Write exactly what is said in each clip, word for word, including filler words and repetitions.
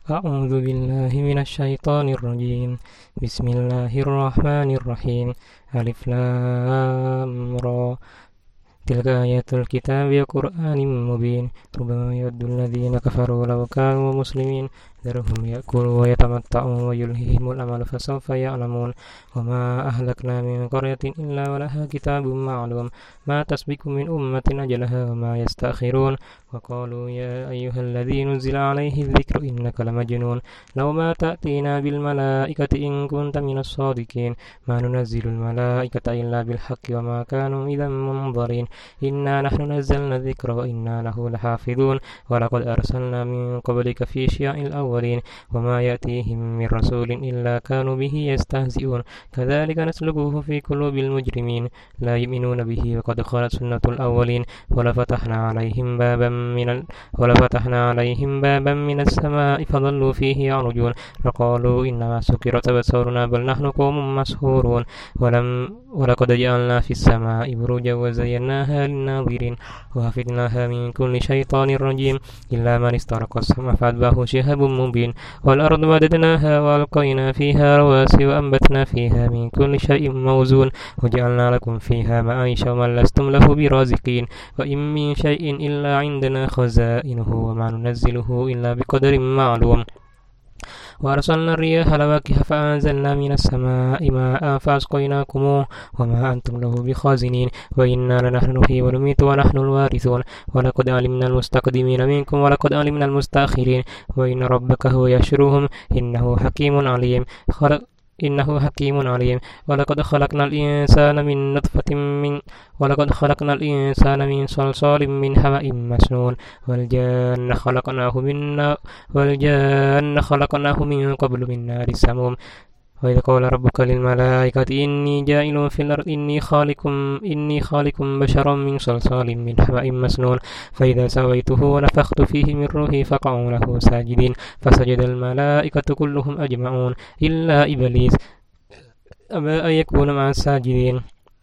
أعوذ بالله من الشيطان الرجيم. بسم الله الرحمن الرحيم. ألف لام را. تلك آيات الكتاب وقرآن مبين. ربما يود الذين كفروا لو كانوا مسلمين ذرهم يأكلوا ويتمتعوا ويلههم الأمل فسوف يعلمون. وما أهلكنا من قرية إلا ولها كتاب معلوم ما تسبق من أمة أجلها وما يستأخرون. وقالوا يا أيها الذي نزل عليه الذكر إنك لمجنون لو ما تأتينا بالملائكة إن كنت من الصادقين ما ننزل الملائكة إلا بالحق وما كانوا إذا منظرين إنا نحن نزلنا الذكر وإنا له لحافظون. ولقد أرسلنا من قبلك في شيع الأولين وما يأتيهم من رسول إلا كانوا به يستهزئون كذلك نسلكه في قلوب المجرمين لا يؤمنون به وقد خلت سنة الأولين. ولفتحنا عليهم بابا من ال... ولفتحنا عليهم بابا من السماء فظلوا فيه يعرجون فقالوا إنما سكرت أبصارنا بل نحن قوم مسحورون. ولم ولقد جعلنا في السماء بروجا وزيناها للناظرين وحفظناها من كل شيطان رجيم إلا من استرق السمع فأتبعه شهاب مبين. والأرض مددناها وألقينا فيها رواسي وأنبتنا فيها من كل شيء موزون وجعلنا لكم فيها معايش ومن لستم له برازقين وإن من شيء إلا عندنا خزائنه وما ننزله إلا بقدر معلوم. وأرسلنا الرياح لواقح فأنزلنا من السماء ماء فأسقيناكموه وما أنتم له بخازنين وإنا لنحن نحيي ونميت ونحن الوارثون. ولقد علمنا المستقدمين منكم ولقد علمنا المستأخرين وإن ربك هو يحشرهم إنه حكيم عليم. خلق إنه حكيم عليم. ولقد خلقنا الإنسان من نطفة من ولقد خلقنا الإنسان من صلصال من حمأ مسنون والجان خلقناه من والجان خلقناه من قبل من نار السموم. وإذ قال ربك للملائكة إني جاعل في الأرض إني خالق إني خالق بشرا من صلصال من حمأ مسنون فإذا سويته ونفخت فيه من روحي فقعوا له ساجدين فسجد الملائكة كلهم أجمعون إلا إبليس أبى أن يكون مع الساجدين.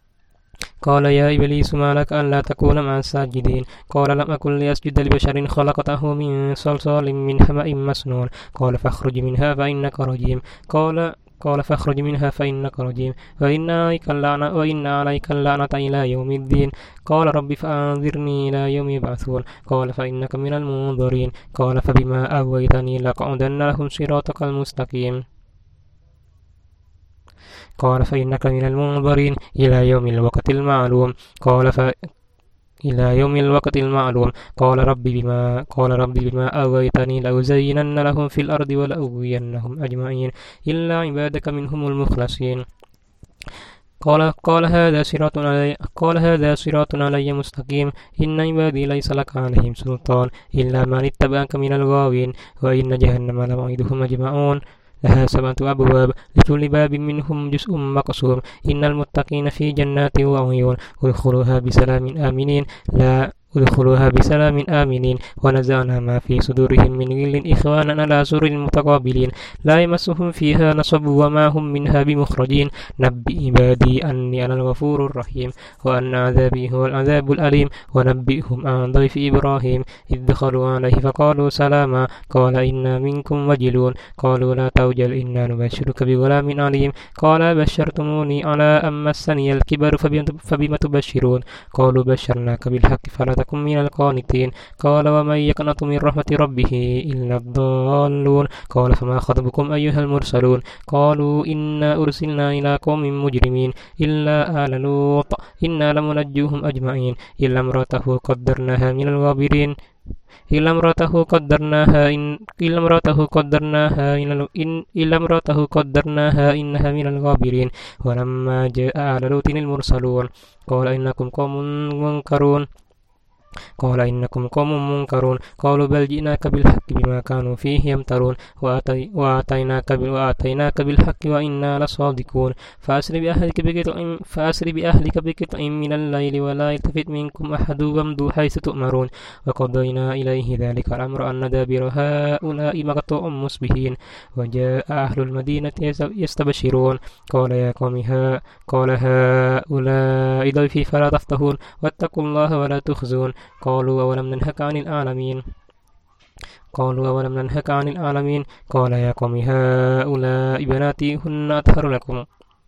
قال يا إبليس ما لك ألا تكون مع الساجدين قال لم أكن لأسجد لبشر خلقته من صلصال من حمأ مسنون قال فاخرج منها فإنك رجيم قال قال فاخرج منها فإنك رجيم وإن عليك اللعنة وإن عليك اللعنة إلى يوم الدين. قال رب فأنظرني إلى يوم يبعثون قال فإنك من المنظرين قال فبما أغويتني لأقعدن لهم صراطك المستقيم قال فإنك من المنظرين إلى يوم الوقت المعلوم قال ف إلى يوم الوقت المعلوم قال رب بما قال رب بما أغويتني لأزينن لهم في الأرض ولأغوينهم أجمعين إلا عبادك منهم المخلصين. قال قال هذا صراط علي قال هذا صراط علي مستقيم إن عبادي ليس لك عليهم سلطان إلا من اتبعك من الغاوين وإن جهنم لموعدهم أجمعون لها سبعة أبواب لكل باب منهم جزء مقسوم إن المتقين في جنات وعيون ادخلوها بسلام آمنين لا ادخلوها بسلام آمنين ونزعنا ما في صدورهم من غل إخوانا على سرر متقابلين لا يمسهم فيها نصب وما هم منها بمخرجين. نبئ عبادي أني أنا الغفور الرحيم وأن عذابي هو العذاب الأليم. ونبئهم عن ضيف إبراهيم إذ دخلوا عليه فقالوا سلاما قال إنا منكم وجلون قالوا لا توجل إنا نبشرك بغلام عليم قال بشرتموني على أن مسني الكبر فبم تبشرون قالوا بشرناك بالحق فلا تكن من القانتين قال ومن يقنط من رحمة ربه إلا الضالون قال فما خطبكم أيها المرسلون قالوا إنا أرسلنا إلى قوم مجرمين إلا آل لوط إنا لمنجوهم أجمعين إلا امرأته قدرناها من الغابرين إلا امرأته قدرناها إن إلا امرأته قدرناها إن إلا امرأته قدرناها إنها من الغابرين. ولما جاء آل لوط المرسلون قال إنكم قوم منكرون قال إنكم قوم منكرون قالوا بل جئناك بالحق بما كانوا فيه يمترون وآتي وآتيناك وآتيناك بالحق وإنا لصادقون فأسر بأهلك بقطع فأسر بأهلك بقطع من الليل ولا يلتفت منكم أحد وامضوا حيث تؤمرون وقضينا إليه ذلك الأمر أن دابر هؤلاء مقطوع مصبحين وجاء أهل المدينة يستبشرون قال يا قوم ها قال هؤلاء ضيفي فلا تفتحون واتقوا الله ولا تخزون قالوا أولم ننهك عن العالمين قالوا أولم ننهك عن العالمين قال يا قوم هؤلاء بناتي هن أطهر لكم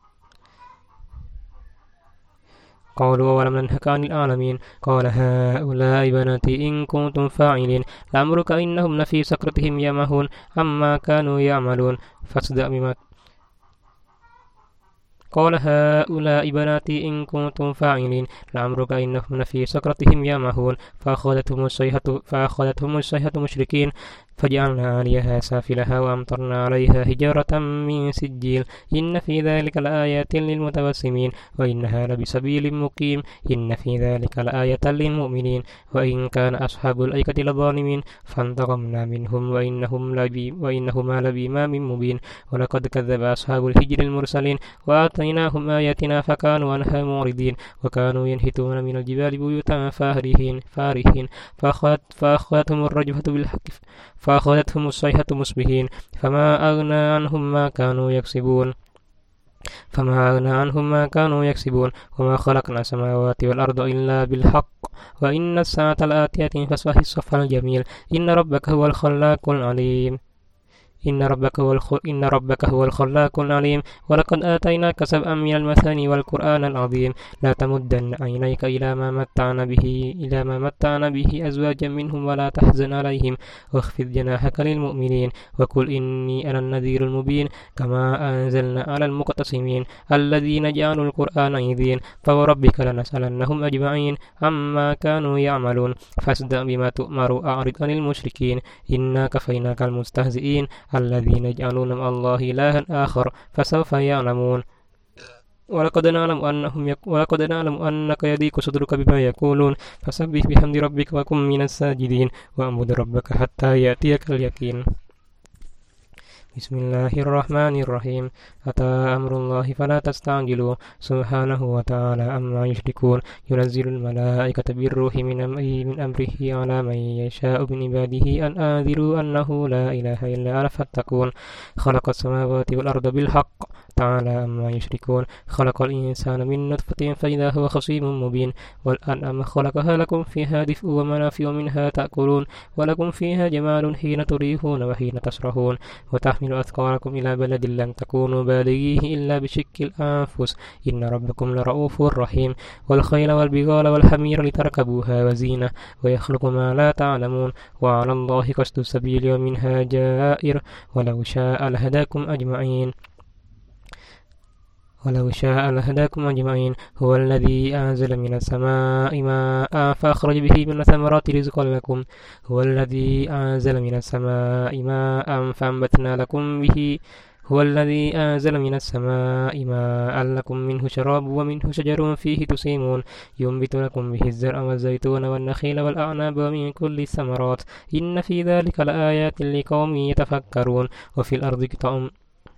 قالوا أولم ننهك عن العالمين قال هؤلاء بناتي إن كنتم فاعلين لعمرك إنهم لفي سكرتهم يعمهون عما كانوا يعملون فاصدع بما قال هؤلاء بناتي إن كنتم فاعلين لعمرك إنهم لفي سكرتهم يعمهون فأخذتهم الصيحة فأخذتهم الصيحة مشركين فجعلنا عاليها سافلها وأمطرنا عليها حجارة من سجيل إن في ذلك لآيات للمتوسمين وإنها لبسبيل مقيم إن في ذلك لآية للمؤمنين وإن كان أصحاب الأيكة لظالمين فانتقمنا منهم وإنهم لبي وإنهما لبإمام مبين ولقد كذب أصحاب الحجر المرسلين وآتيناهم آياتنا فكانوا عنها معرضين وكانوا ينحتون من الجبال بيوتا فارهين فارهين فأخذت فأخذتهم الرجفة بالحق فأخذتهم الصيحة مصبحين فما أغنى عنهم ما كانوا يكسبون فما أغنى عنهم ما كانوا يكسبون وما خلقنا السماوات والأرض إلا بالحق وإن الساعة لآتية فاصفح الصفح الجميل إن ربك هو الخلاق العليم إن ربك هو الخ... إن ربك هو الخلاق العليم ولقد آتيناك سبعا من المثاني والقرآن العظيم لا تمدن عينيك إلى ما متعنا به إلى ما متعنا به أزواجا منهم ولا تحزن عليهم واخفض جناحك للمؤمنين وقل إني أنا النذير المبين كما أنزلنا على المقتسمين الذين جعلوا القرآن عظيم فوربك لنسألنهم أجمعين عما كانوا يعملون فاصدع بما تؤمر وأعرض عن المشركين إنا كفيناك المستهزئين الذين يجعلون مع الله إلها آخر فسوف يعلمون ولقد نعلم أنهم يك... ولقد نعلم أنك يضيق صدرك بما يقولون فسبح بحمد ربك وكن من الساجدين واعبد ربك حتى يأتيك اليقين بسم الله الرحمن الرحيم أتى أمر الله فلا تستعجلوا سبحانه وتعالى عما يشركون ينزل الملائكة بالروح من من أمره على من يشاء من عباده أن أنذروا أنه لا إله إلا أنا فاتقون خلق السماوات والأرض بالحق تعالى عما يشركون خلق الإنسان من نطفة فإذا هو خصيم مبين والأنعام خلقها لكم فيها دفء ومنافع منها تأكلون ولكم فيها جمال حين تريحون وحين تسرحون وتحمل أثقالكم إلى بلد لم تكونوا بالغيه إلا بشق الأنفس إن ربكم لرؤوف رحيم والخيل والبغال والحمير لتركبوها وزينة ويخلق ما لا تعلمون وعلى الله قصد السبيل ومنها جائر ولو شاء لهداكم أجمعين ولو شاء لهداكم أجمعين هو الذي أنزل من السماء ماء فأخرج به من الثمرات رزقا لكم هو الذي أنزل من السماء ماء فأنبتنا لكم به هو الذي أنزل من السماء ماء لكم منه شراب ومنه شجر فيه تسيمون ينبت لكم به الزرع والزيتون والنخيل والأعناب ومن كل الثمرات إن في ذلك لآيات لقوم يتفكرون وفي الأرض قطع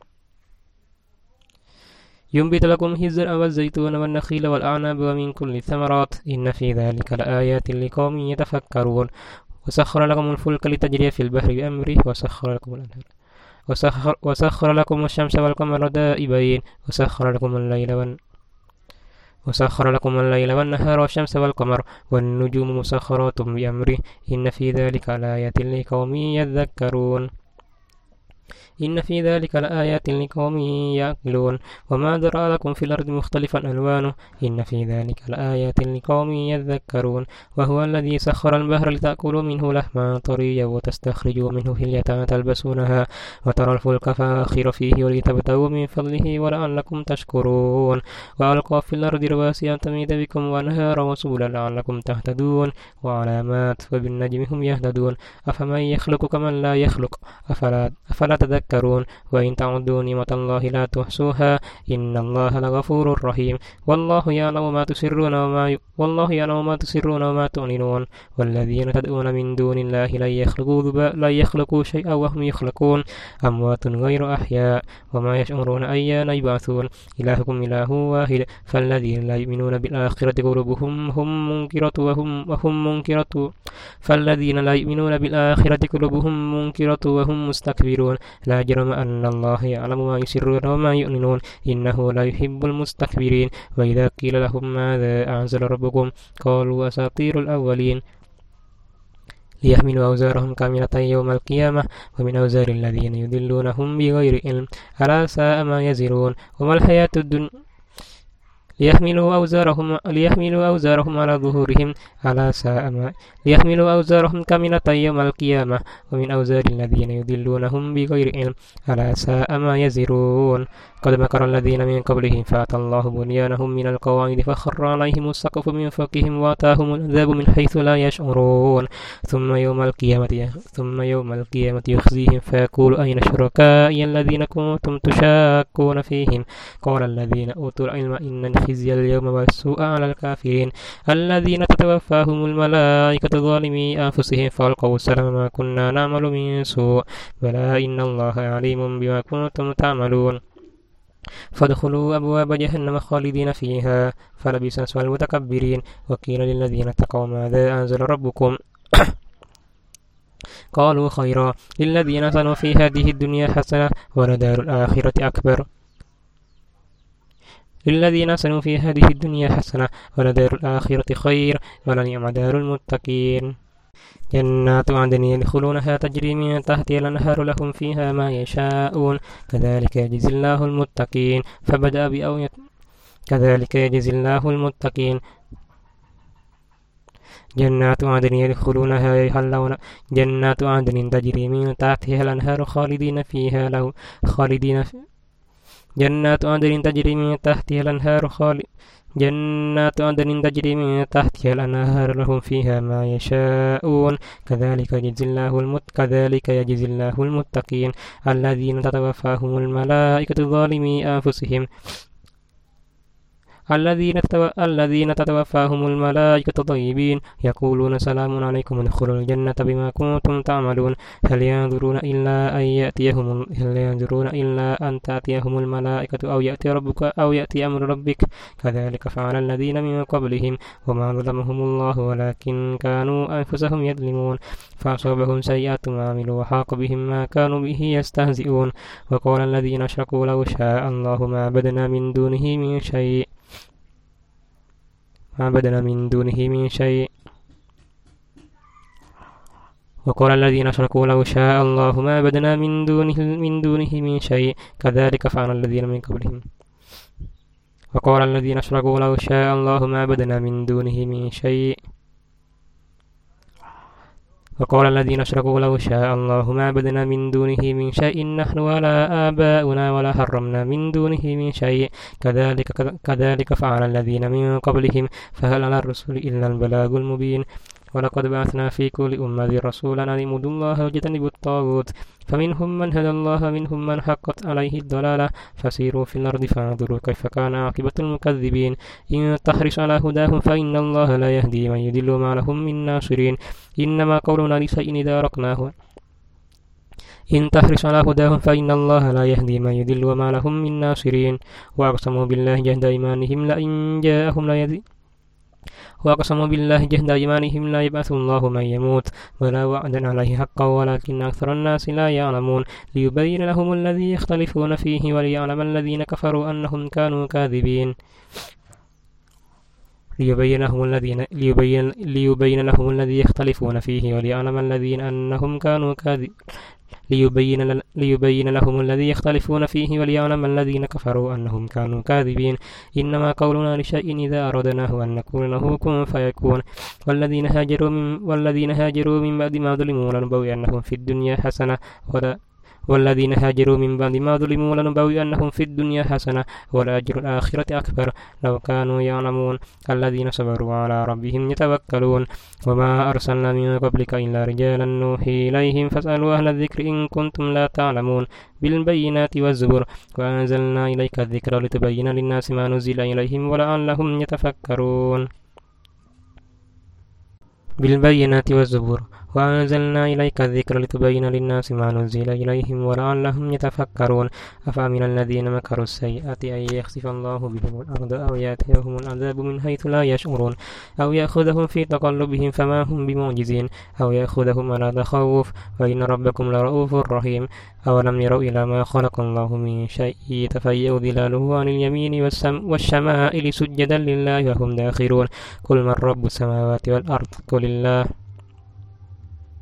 ينبت لكم الزرع والزيتون والنخيل والأعناب ومن كل الثمرات إن في ذلك لآيات لقوم يتفكرون وسخر لكم الفلك لتجري في البحر بأمره وسخر لكم الأنهار وسخر, وسخر لكم الشمس والقمر دائبين وسخر لكم الليل والن وسخر لكم الليل والنهار والشمس والقمر والنجوم مسخرات بأمره إن في ذلك لآيات لقوم يذكرون إن في ذلك لآيات لقوم يعقلون وما ذرأ لكم في الأرض مختلفا ألوانه إن في ذلك لآيات لقوم يذكرون وهو الذي سخر البحر لتأكلوا منه لحما طريا وتستخرجوا منه حلية تلبسونها وترى الفلك فاخر فيه ولتبتغوا من فضله ولعلكم تشكرون وألقى في الأرض رواسي أن تميد بكم وأنهارا وسبلا لعلكم تهتدون وعلامات وبالنجم هم يهتدون أفمن يخلق كمن لا يخلق أفلا, أفلا تذكرون وإن تعدوا نعمة الله لا تحصوها إن الله لغفور رحيم والله يعلم ما تسرون وما ي... والله يعلم ما تسرون وما تعلنون والذين تدعون من دون الله لا يخلقوا ذبا... لا يخلقوا شيئا وهم يخلقون أموات غير أحياء وما يشعرون أيان يبعثون إلهكم إله واحد فالذين لا يؤمنون بالآخرة قلوبهم هم منكرة وهم وهم منكرة فالذين لا يؤمنون بالآخرة قلوبهم منكرة وهم مستكبرون لا جرم أن الله يعلم ما يسرون وما يعلنون إنه لا يحب المستكبرين وإذا قيل لهم ماذا أنزل ربكم قالوا أساطير الأولين ليحملوا أوزارهم كاملة يوم القيامة ومن أوزار الذين يضلونهم بغير علم ألا ساء ما يزرون وما الحياة الدنيا ليحملوا أوزارهم ليحملوا أوزارهم على ظهورهم على ساء ما ليحملوا أوزارهم كاملة يوم القيامة ومن أوزار الذين يضلونهم بغير علم على ساء ما يزرون قد مكر الذين من قبلهم فأتى الله بنيانهم من القواعد فخر عليهم السقف من فوقهم وأتاهم العذاب من حيث لا يشعرون ثم يوم القيامة ثم يوم القيامة يخزيهم فيقول أين شركائي الذين كنتم تشاكون فيهم قال الذين أوتوا العلم إن الخزي اليوم والسوء على الكافرين الذين تتوفاهم الملائكة ظالمي أنفسهم فألقوا السلام ما كنا نعمل من سوء بلى إن الله عليم بما كنتم تعملون فادخلوا أبواب جهنم خالدين فيها فلبئس مثوى المتكبرين وقيل للذين اتقوا ماذا أنزل ربكم قالوا خيرا للذين أحسنوا في هذه الدنيا حسنة ولدار الآخرة أكبر للذين أحسنوا في هذه الدنيا حسنة ولدار الآخرة خير ولنعم دار المتقين جنات عدن يدخلونها تجري من تحتها الأنهار لهم فيها ما يشاءون كذلك يجزي الله المتقين فبدأ بأوية كذلك يجزي الله المتقين جنات عدن يدخلونها يحلون جنات عدن تجري من تحتها الأنهار خالدين فيها له خالدين في جنات عدن تجري من تحتها الأنهار خالد جنات عدن تجري من تحتها الأنهار لهم فيها ما يشاءون كذلك يجزي الله المت كذلك يجزي الله المتقين الذين تتوفاهم الملائكة ظالمي أنفسهم الذين تتو... الذين تتوفاهم الملائكة طيبين يقولون سلام عليكم ادخلوا الجنة بما كنتم تعملون هل ينظرون إلا أن يأتيهم هل ينظرون إلا أن تأتيهم الملائكة أو يأتي ربك أو يأتي أمر ربك كذلك فعل الذين من قبلهم وما ظلمهم الله ولكن كانوا أنفسهم يظلمون فأصابهم سيئات ما عملوا وحاق بهم ما كانوا به يستهزئون وقال الذين أشركوا لو شاء الله ما عبدنا من دونه من شيء ما عبدنا من دونه من شيء وقال الذين أشركوا لو شاء الله ما عبدنا من دونه من دونه من شيء كذلك فعل الذين من قبلهم وقال الذين أشركوا لو شاء الله ما عبدنا من دونه من شيء وقال الذين أشركوا لو شاء الله ما عبدنا من دونه من شيء نحن ولا آباؤنا ولا حرمنا من دونه من شيء كذلك كذلك فعل الذين من قبلهم فهل على الرسل إلا البلاغ المبين ولقد بعثنا في كل أمة رسولا أن اعبدوا الله واجتنبوا الطاغوت فمنهم من هدى الله ومنهم من حقت عليه الضلالة فسيروا في الأرض فانظروا كيف كان عاقبة المكذبين إن تحرص على هداهم فإن الله لا يهدي من يضل ما لهم من ناصرين إنما قولنا لشيء إذا أردناه إن تحرص على هداهم فإن الله لا يهدي من يضل وما لهم من ناصرين وأقسموا بالله جهد أيمانهم لئن جاءهم لا يهدي وأقسموا بالله جهد أيمانهم لا يبعث الله من يموت ولا وعدا عليه حقا ولكن أكثر الناس لا يعلمون ليبين لهم الذي يختلفون فيه وليعلم الذين كفروا أنهم كانوا كاذبين ليبين لهم الذين ليبين, ليبين لهم الذي يختلفون فيه وليعلم الذين أنهم كانوا كاذبين ليبين, ليبين لهم الذي يختلفون فيه وليعلم الذين كفروا أنهم كانوا كاذبين إنما قولنا لشيء إذا أردناه أن نقول له كن فيكون والذين هاجروا من, والذين هاجروا من بعد ما ظلموا لنبوئنهم في الدنيا حسنة ولا والذين هاجروا من بعد ما ظلموا لنبوئنهم في الدنيا حسنة ولأجر الآخرة أكبر لو كانوا يعلمون الذين صبروا على ربهم يتوكلون وما أرسلنا من قبلك إلا رجالا نوحي إليهم فاسألوا أهل الذكر إن كنتم لا تعلمون بالبينات والزبر وأنزلنا إليك الذكر لتبين للناس ما نزل إليهم ولعلهم يتفكرون بالبينات والزبر وأنزلنا إليك الذكر لتبين للناس ما نزل إليهم ولعلهم يتفكرون أفأمن الذين مكروا السيئات أن يخسف الله بهم الأرض أو يأتيهم العذاب من حيث لا يشعرون أو يأخذهم في تقلبهم فما هم بمعجزين أو يأخذهم على تخوف وإن ربكم لرؤوف رحيم أولم يروا إلى ما خلق الله من شيء يتفيأ ظلاله عن اليمين والشمائل سجدا لله وهم داخرون قل من رب السماوات والأرض قل الله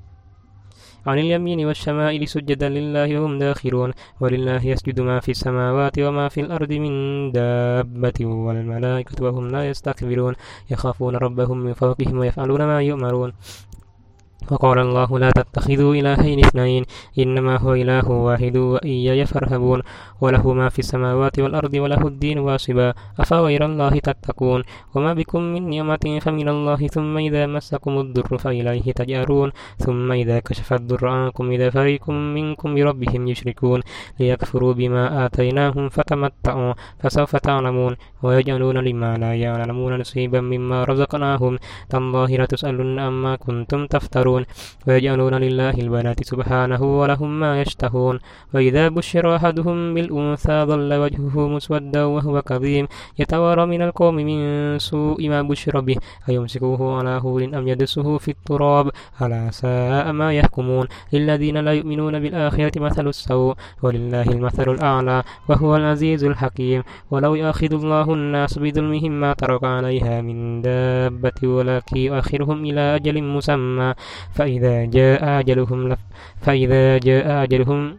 عن اليمين والشمائل سجدا لله وهم داخرون ولله يسجد ما في السماوات وما في الأرض من دابة والملائكة وهم لا يستكبرون يخافون ربهم من فوقهم ويفعلون ما يؤمرون وقال الله لا تتخذوا إلهين اثنين إنما هو إله واحد وإياي فارهبون وله ما في السماوات والأرض وله الدين واصبا أفغير الله تتقون وما بكم من نعمة فمن الله ثم إذا مسكم الضر فإليه تجأرون ثم إذا كشف الضر عنكم إذا فريق منكم بربهم يشركون ليكفروا بما آتيناهم فتمتعوا فسوف تعلمون ويجعلون لما لا يعلمون نصيبا مما رزقناهم تالله لتسألن عما كنتم تفترون ويجعلون لله البنات سبحانه ولهم ما يشتهون وإذا بشر أحدهم بالأنثى ظل وجهه مسودا وهو كظيم يتوارى من القوم من سوء ما بشر به أيمسكه على هول أم يدسه في التراب ألا ساء ما يحكمون للذين لا يؤمنون بالآخرة مثل السوء ولله المثل الأعلى وهو العزيز الحكيم ولو يأخذ الله الناس بظلمهم ما ترك عليها من دابة ولكن يؤخرهم إلى أجل مسمى فإذا جاء أجلهم لف فإذا جاء أجلهم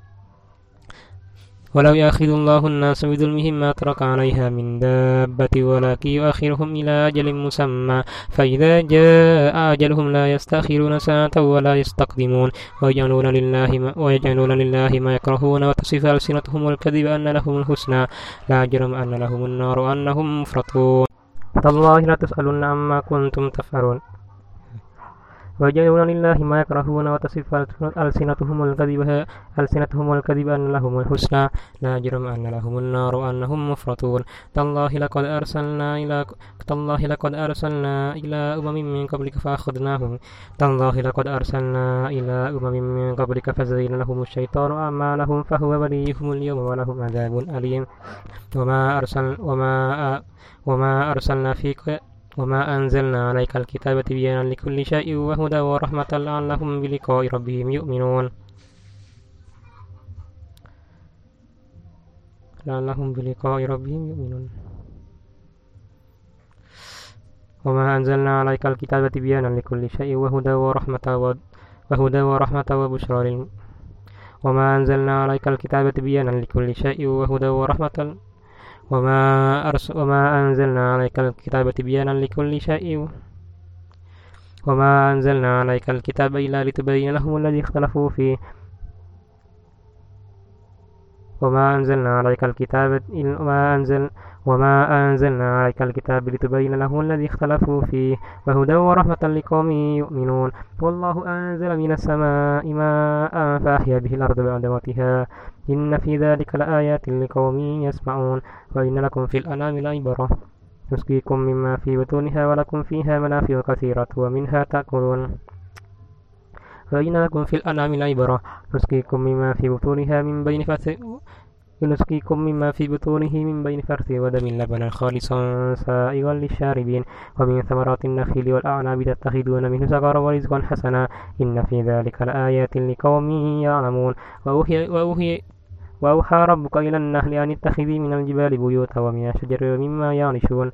ولو يأخذ الله الناس بظلمهم ما ترك عليها من دابة ولكن يؤخرهم إلى أجل مسمى فإذا جاء أجلهم لا يستأخرون ساعة ولا يستقدمون ويجعلون لله ما, ويجعلون لله ما يكرهون وتصف ألسنتهم الكذب أن لهم الحسنى لا جرم أن لهم النار وأنهم مفرطون تالله لا تسألن عما كنتم تفعلون ويجعلون لله ما يكرهون وتصف ألسنتهم الكذب ألسنتهم الكذب أن لهم الحسنى لا جرم أن لهم النار وأنهم مفرطون تالله لقد أرسلنا إلى تالله لقد أرسلنا إلى أمم من قبلك فأخذناهم تالله لقد أرسلنا إلى أمم من قبلك فزين لهم الشيطان أعمالهم فهو وليهم اليوم ولهم عذاب أليم وما أرسل وما وما أرسلنا فيك وما أنزلنا عليك الكتاب تبيانا لكل شيء وهدى ورحمة لعلهم بلقاء ربهم يؤمنون لعلهم بلقاء ربهم يؤمنون وما أنزلنا عليك الكتاب تبيانا لكل شيء وهدى ورحمة وهدى ورحمة وبشرى للم وما أنزلنا عليك الكتاب تبيانا لكل شيء وهدى ورحمة وما أرس وما أنزلنا عليك الكتاب تبيانا لكل شيء وما أنزلنا عليك الكتاب إلا لتبين لهم الذي اختلفوا فيه وما أنزلنا عليك الكتاب وما أنزل وما أنزلنا عليك الكتاب لتبين لهم الذي اختلفوا فيه وهدى ورحمة لقوم يؤمنون والله أنزل من السماء ماء فأحيا به الأرض بعد موتها إن في ذلك لآيات لقوم يسمعون وإن لكم في الأنعام لعبرة نسقيكم مما في بطونها ولكم فيها منافع كثيرة ومنها تأكلون وإن لكم في الأنعام لعبرة نسقيكم مما في بطونها من بين فرث ونسقيكم مما في بطونه من بين فرث ودم لبنا خالصا سائغا للشاربين ومن ثمرات النخيل والأعناب تتخذون منه سكرا ورزقا حسنا إن في ذلك لآيات لقوم يعلمون وأوحي, وأوحي وأوحى ربك إلى النحل أن اتخذي من الجبال بيوتا ومن الشجر مما يعرشون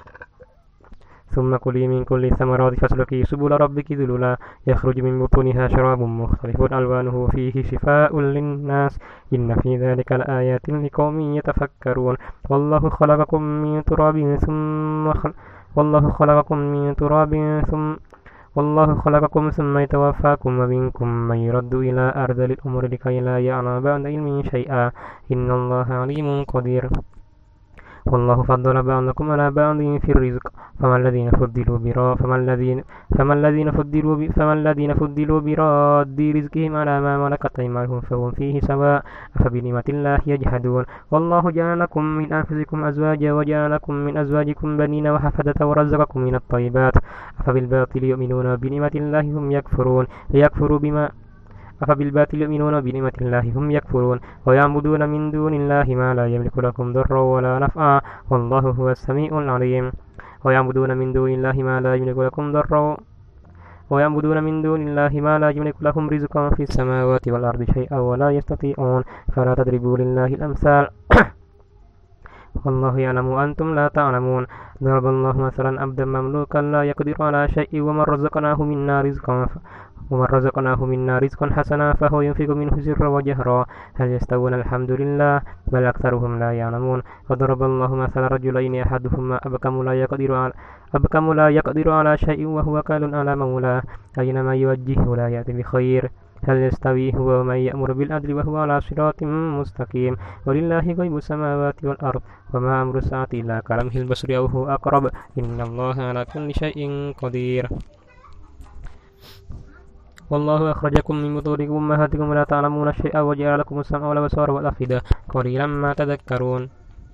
ثم كلي من كل الثمرات فاسلكي سبل ربك ذللا يخرج من بطونها شراب مختلف ألوانه فيه شفاء للناس إن في ذلك لآيات لقوم يتفكرون والله خلقكم من تراب ثم خل... والله خلقكم من تراب ثم والله خلقكم ثم يتوفاكم ومنكم من يرد إلى أرذل الأمور لكي لا يعلم بعد علم شيئا إن الله عليم قدير والله فضل بعضكم على بعض في الرزق فما الذين فضلوا برا فما الذين فما الذين فضلوا ب... فما الذين فضلوا براد رزقهم على ما ملكت أيمانهم فهم فيه سواء أفبنعمة الله يجحدون والله جعل لكم من أنفسكم أزواجا وجعل لكم من أزواجكم بنين وحفدة ورزقكم من الطيبات أفبالباطل يؤمنون وبنعمة الله هم يكفرون ليكفروا بما أفبالباطل يؤمنون بنعمة الله هم يكفرون ويعبدون من دون الله ما لا يملك لكم ضرا ولا نفعا والله هو السميع العليم ويعبدون من دون الله ما لا يملك لكم ضرا ويعبدون من دون الله ما لا يملك لهم رزقا في السماوات والأرض شيئا ولا يستطيعون فلا تضربوا لله الأمثال والله يعلم وأنتم لا تعلمون ضرب الله مثلا عبدا مملوكا لا يقدر على شيء ومن رزقناه منا رزقا ومن رزقناه منا رزقا حسنا فهو ينفق منه سرا وجهرا هل يستوون الحمد لله بل أكثرهم لا يعلمون وضرب الله مثل رجلين أحدهما أبكم لا يقدر على أبكم لا يقدر على شيء وهو كال على مولاه أينما يوجهه لا يأتي بخير هل يستوي هو ومن يأمر بالعدل وهو على صراط مستقيم ولله غيب السماوات والأرض وما أمر الساعة إلا كلمح البصر أو هو أقرب إن الله على كل شيء قدير والله أخرجكم من بطون أمهاتكم ولا تعلمون شيئا وجعل لكم السمع والأبصار والأفئدة قليلا ما تذكرون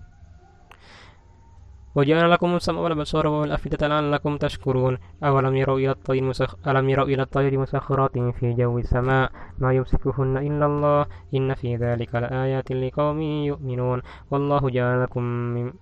وجعل لكم السمع والأبصار والأفئدة لعلكم تشكرون أولم يروا إلى الطير مسخ... ألم يروا إلى الطير مسخرات في جو السماء ما يمسكهن إلا الله إن في ذلك لآيات لقوم يؤمنون والله جعل لكم من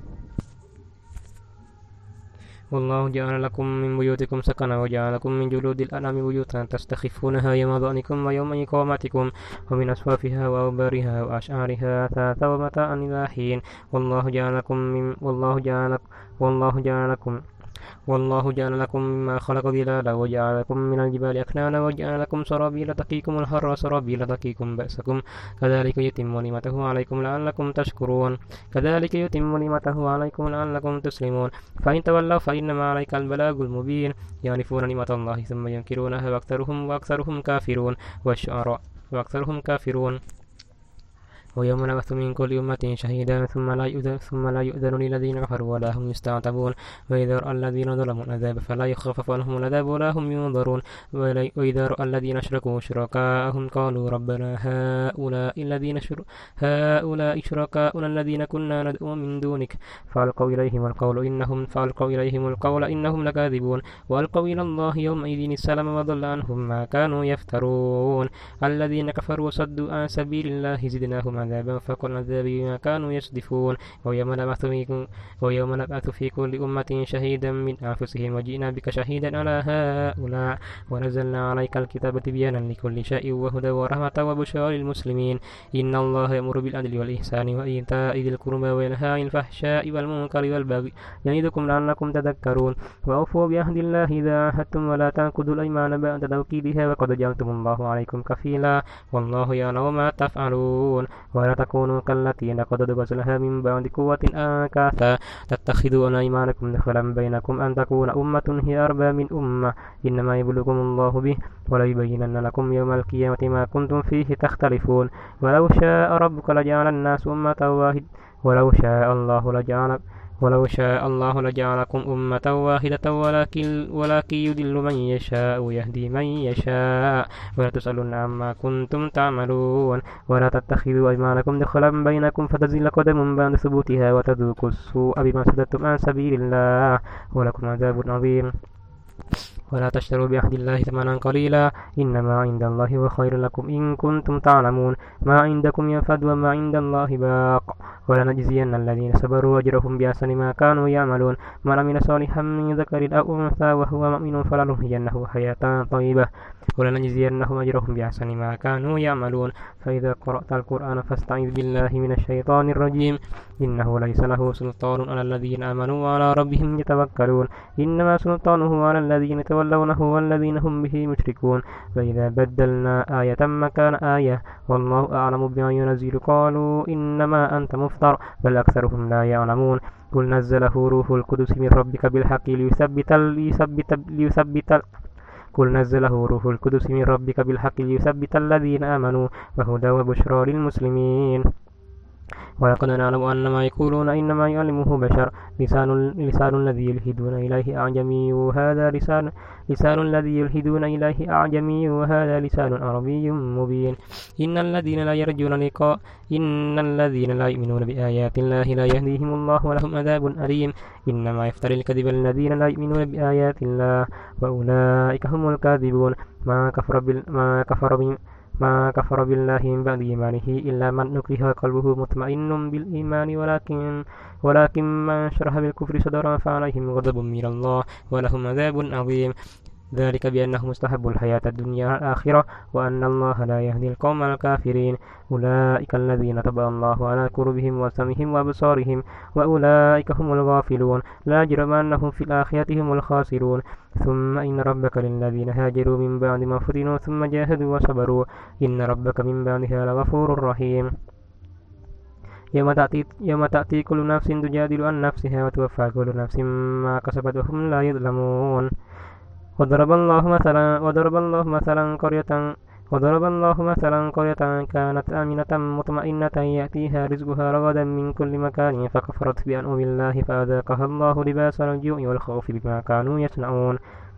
والله جعل لكم من بيوتكم سكنا وجعل لكم من جلود الأنعام بيوتا تستخفونها يوم ظعنكم ويوم إقامتكم ومن أصوافها وأوبارها وأشعارها أثاثا ومتاعا إلى حين والله جعل لكم من والله جعل والله جعل لكم والله جعل لكم مما خلق ظلالا وجعل لكم من الجبال أكنانا وجعل لكم سرابيل تقيكم الحر وسرابيل تقيكم بأسكم كذلك يتم نعمته عليكم لعلكم تشكرون كذلك يتم نعمته عليكم لعلكم تسلمون فإن تولوا فإنما عليك البلاغ المبين يعرفون نعمة الله ثم ينكرونها وأكثرهم وأكثرهم كافرون والشعراء وأكثرهم كافرون ويوم نبعث من كل أمة شهيدا ثم لا يؤذن ثم لا يؤذن للذين كفروا ولا هم يستعتبون وإذا رأى الذين ظلموا العذاب فلا يخفف عنهم العذاب ولا هم ينظرون وإذا رأى الذين أشركوا شركاءهم قالوا ربنا هؤلاء الذين شر... هؤلاء شركاؤنا الذين كنا ندعو من دونك فألقوا إليهم القول إنهم فألقوا إليهم القول إنهم لكاذبون وألقوا إلى الله يومئذ السلام وضل عنهم ما كانوا يفترون الذين كفروا وصدوا عن سبيل الله زدناهم عذابا فوق العذاب بما كانوا يصدفون ويوم نبعث في ويوم نبعث في كل أمة شهيدا من أنفسهم وجئنا بك شهيدا على هؤلاء ونزلنا عليك الكتاب تبيانا لكل شيء وهدى ورحمة وبشرى للمسلمين إن الله يأمر بالعدل والإحسان وإيتاء ذي القربى وينهى عن الفحشاء والمنكر والبغي يعظكم لعلكم تذكرون وأوفوا بعهد الله إذا عاهدتم ولا تنقضوا الأيمان بعد توكيدها وقد جعلتم الله عليكم كفيلا والله يعلم ما تفعلون ولا تكونوا كالتي نقضت غزلها من بعد قوة أنكاثا تتخذون أيمانكم دخلا بينكم أن تكون أمة هي أربى من أمة إنما يبلغكم الله به وليبينن لكم يوم القيامة ما كنتم فيه تختلفون ولو شاء ربك لجعل الناس أمة واحدة ولو شاء الله لجعل ولو شاء الله لجعلكم أمة واحدة ولكن ولكن يضل من يشاء ويهدي من يشاء ولا تسألون عما كنتم تعملون ولا تتخذوا أيمانكم دخلا بينكم فتزل قدم بعد ثبوتها وتذوقوا السوء بما صددتم عن سبيل الله ولكم عذاب عظيم ولا تشتروا بعهد الله ثمنا قليلا إنما عند الله هو خير لكم إن كنتم تعلمون ما عندكم ينفد وما عند الله باق ولنجزين الذين صبروا أجرهم بأحسن ما كانوا يعملون من عمل صالحا من ذكر أو أنثى وهو مؤمن فلنحيينه حياة طيبة ولنجزينهم أجرهم بأحسن ما كانوا يعملون فإذا قرأت القرآن فاستعذ بالله من الشيطان الرجيم إنه ليس له سلطان على الذين آمنوا وعلى ربهم يتوكلون إنما سلطانه على الذين تولونه والذين هم به مشركون فإذا بدلنا آية مكان آية والله أعلم بما ينزل قالوا إنما أنت مفتر بل أكثرهم لا يعلمون قل نزله روح القدس من ربك بالحق ليثبت ليثبت ليثبت قل نزله روح القدس من ربك بالحق ليثبت الذين آمنوا وهدى وبشرى للمسلمين ولقد نعلم أن ما يقولون إنما يعلمه بشر لسان, لسان الذي يلهدون إليه أعجمي وهذا لسان لسان الذي يلهدون إليه أعجمي وهذا لسان عربي مبين إن الذين لا يرجون لقاء إن الذين لا يؤمنون بآيات الله لا يهديهم الله ولهم عذاب أليم إنما يفتري الكذب الذين لا يؤمنون بآيات الله وأولئك هم الكاذبون ما كفر بال ما كفر بال ما كفر بالله من بعد إيمانه إلا من نكره قلبه مطمئن بالإيمان ولكن ولكن من شرح بالكفر صدرا فعليهم غضب من الله ولهم عذاب عظيم ذلك بأنهم استحبوا الحياة الدنيا على الآخرة وأن الله لا يهدي القوم الكافرين أولئك الذين طبع الله على قلوبهم وسمعهم وأبصارهم وأولئك هم الغافلون لا جرم أنهم في الآخرة هم الخاسرون ثم إن ربك للذين هاجروا من بعد ما فتنوا ثم جاهدوا وصبروا إن ربك من بعدها لغفور رحيم يوم تأتي, يوم تأتي كل نفس تجادل عن نفسها وتوفى كل نفس ما كسبت وهم لا يظلمون وضرب الله مثلا وضرب الله مثلا قرية وضرب الله مثلا قرية كانت آمنة مطمئنة يأتيها رزقها رغدا من كل مكان فكفرت بأنعم الله فأذاقها الله لباس الجوع والخوف بما كانوا يصنعون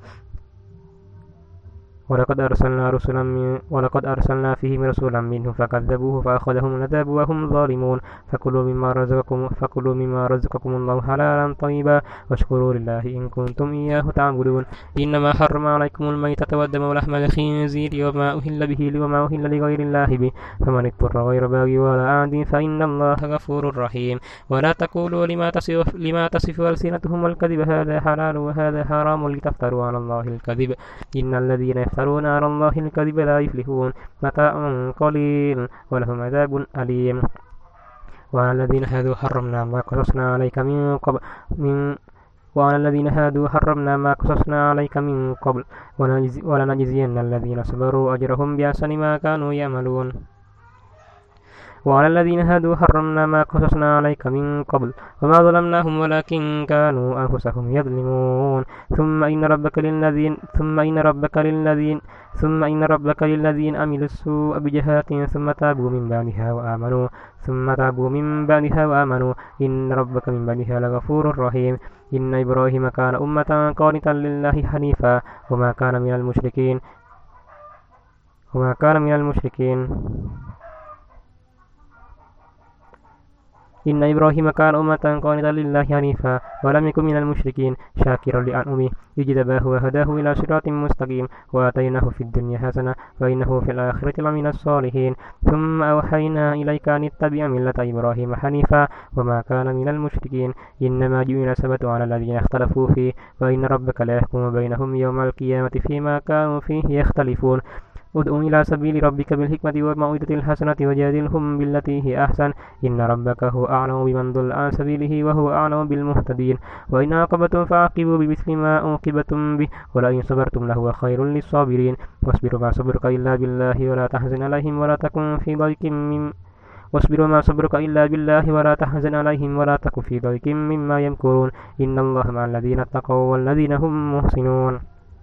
ولقد أرسلنا رسلا من ولقد أرسلنا فيهم رسولا منهم فكذبوه فأخذهم العذاب وهم ظالمون فكلوا مما رزقكم فكلوا مما رزقكم الله حلالا طيبا واشكروا لله إن كنتم إياه تعبدون إنما حرم عليكم الميتة والدم ولحم الخنزير وما أهل به وما أهل لغير الله به فمن اضطر غير باغ ولا عاد فإن الله غفور رحيم ولا تقولوا لما تصف لما تصف ألسنتهم الكذب هذا حلال وهذا حرام لتفتروا على الله الكذب إن الذين يفترون على الله الكذب لا يفلحون متاع قليل ولهم عذاب أليم وعلى الذين هادوا حرمنا ما قصصنا عليك من قبل من وعلى الذين هادوا حرمنا ما قصصنا عليك من قبل ولنجزين الذين صبروا أجرهم بأحسن ما كانوا يعملون وعلى الذين هادوا حرمنا ما قصصنا عليك من قبل وما ظلمناهم ولكن كانوا أنفسهم يظلمون ثم إن ربك للذين ثم إن ربك للذين ثم إن ربك للذين عملوا السوء بجهالة ثم تابوا من بعدها وآمنوا ثم تابوا من بعدها وآمنوا إن ربك من بعدها لغفور رحيم إن إبراهيم كان أمة قانتا لله حنيفا وما كان من المشركين وما كان من المشركين إن إبراهيم كان أمة قانتا لله حنيفا ولم يكن من المشركين شاكرا لأنعمه اجتباه وهداه إلى صراط مستقيم وآتيناه في الدنيا حسنة وإنه في الآخرة لمن الصالحين ثم أوحينا إليك أن اتبع ملة إبراهيم حنيفا وما كان من المشركين إنما جعل السبت على الذين اختلفوا فيه وإن ربك لا يحكم بينهم يوم القيامة فيما كانوا فيه يختلفون ادع إلى سبيل ربك بالحكمة والموعظة الحسنة وجادلهم بالتي هي أحسن إن ربك هو أعلم بمن ضل عن سبيله وهو أعلم بالمهتدين وإن عاقبتم فعاقبوا بمثل ما عوقبتم به ولئن صبرتم لهو خير للصابرين واصبر ما صبرك إلا بالله ولا تحزن عليهم ولا تكن في ضيق من واصبر ما صبرك إلا بالله ولا تحزن عليهم ولا تكن في ضيق مما يمكرون إن الله مع الذين اتقوا والذين هم محسنون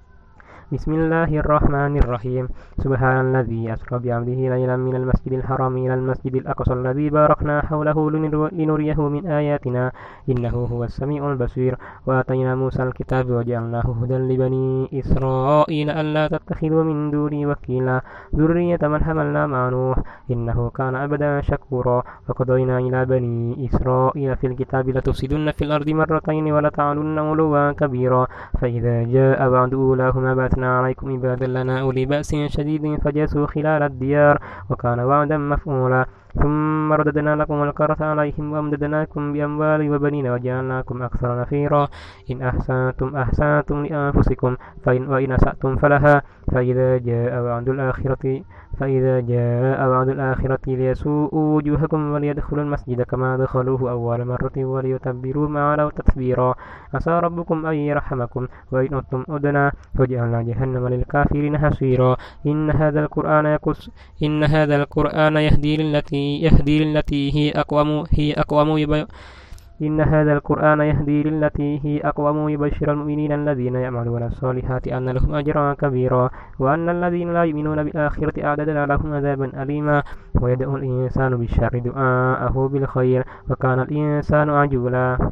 بسم الله الرحمن الرحيم سبحان الذي أسرى بعبده ليلا من المسجد الحرام إلى المسجد الأقصى الذي باركنا حوله لنريه من آياتنا إنه هو السميع البصير وآتينا موسى الكتاب وجعلناه هدى لبني إسرائيل ألا تتخذوا من دوني وكيلا ذرية من حملنا مع نوح إنه كان عبدا شكورا وقضينا إلى بني إسرائيل في الكتاب لتفسدن في الأرض مرتين ولتعلن علوا كبيرا فإذا جاء بعد أولاهما باتنا عليكم عبادا لنا أولي بأس شديد فجاسوا خلال الديار وكان وعدا مفعولا ثم رددنا لكم الكرة عليهم وأمددناكم بأموال وبنين وجعلناكم أكثر نفيرا إن أحسنتم أحسنتم لأنفسكم فإن وإن أسأتم فلها فإذا جاء وعد الآخرة فإذا جاء وعد الآخرة ليسوءوا وجوهكم وليدخلوا المسجد كما دخلوه أول مرة وليتبروا ما علوا تتبيرا عسى ربكم أن يرحمكم وإن أتم أدنا وجعلنا جهنم للكافرين حصيرا إن هذا القرآن يقص إن هذا القرآن يهدي للتي يهدي للتي هي أقوم هي أقوم يبي إن هذا القرآن يهدي للتي هي أقوم يبشر المؤمنين الذين يعملون الصالحات أن لهم أجرا كبيرا وأن الذين لا يؤمنون بالآخرة أعددنا لهم عذابا أليما ويدعو الإنسان بالشر دعاءه بالخير وكان الإنسان عجولا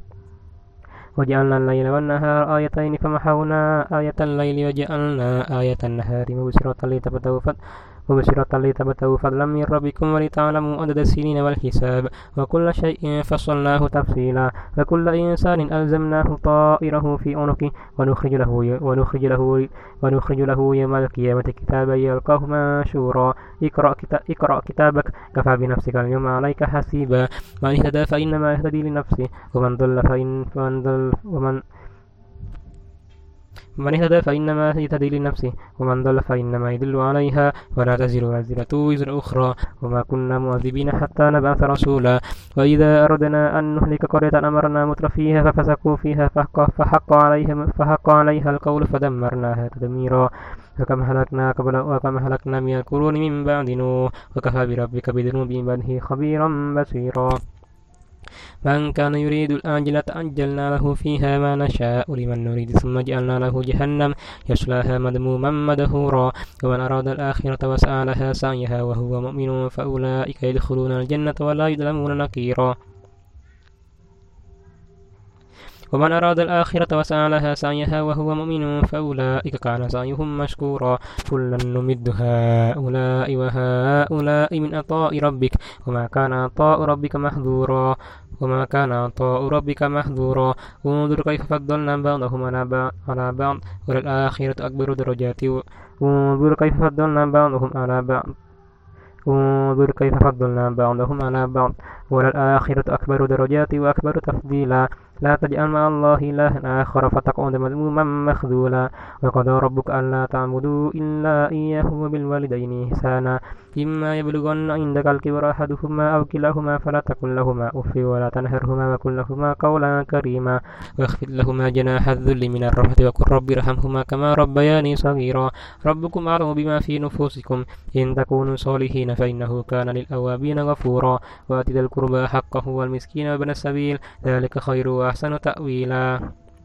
وجعلنا الليل والنهار آيتين فمحونا آية الليل وجعلنا آية النهار مبصرة لتبتغوا مبصرة لتبتغوا فضلا من ربكم ولتعلموا عدد السنين والحساب وكل شيء فصلناه تفصيلا وكل إنسان ألزمناه طائره في عنقه ونخرج له ونخرج له ونخرج له يوم القيامة كتابا يلقاه منشورا اقرأ, كتاب اقرأ كتابك كفى بنفسك اليوم عليك حسيبا من اهتدى فإنما يهتدي لنفسه ومن ضل فإن ومن ضل ومن من اهتدى فإنما يهتدي لنفسه ومن ضل فإنما يضل عليها ولا تزر وازرة وزر أخرى وما كنا مؤذبين حتى نبعث رسولا وإذا أردنا أن نهلك قرية أمرنا متر فيها ففسقوا فيها فحق, فحق, عليها فحق عليها القول فدمرناها تدميرا وكم هلكنا قبل وكم هلكنا من القرون من بعد نوح وكفى بربك بذنوب عباده خبيرا بصيرا من كان يريد الآجلة عجلنا له فيها ما نشاء لمن نريد ثم جعلنا له جهنم يصلاها مذموما مدحورا ومن أراد الآخرة وسعى لها سعيها وهو مؤمن فأولئك يدخلون الجنة ولا يظلمون نقيرا ومن أراد الآخرة وسعى لها سعيها وهو مؤمن فأولئك كان سعيهم مشكورا كلا نمد هؤلاء وهؤلاء من عطاء ربك وما كان عطاء ربك محظورا وما كان عطاء ربك محظورا انظر كيف فضلنا بعضهم على بعض وللآخرة أكبر درجات انظر كيف فضلنا بعضهم على بعض انظر كيف فضلنا بعضهم على بعض وللآخرة أكبر درجات وأكبر تفضيلا لا تجعل مع الله إلها آخر فتقعد مذموما مخذولا وقضى ربك ألا تعبدوا إلا إياه وبالوالدين إحسانا إما يبلغن عندك الكبر أحدهما أو كلاهما فلا تقل لهما أف ولا تنهرهما وقل لهما قولا كريما واخفض لهما جناح الذل من الرحمة وقل رب ارحمهما كما ربياني صغيرا ربكم أعلم بما في نفوسكم إن تكونوا صالحين فإنه كان للأوابين غفورا وآت ذا القربى حقه والمسكين وابن السبيل ذلك خير وأحسن تأويلا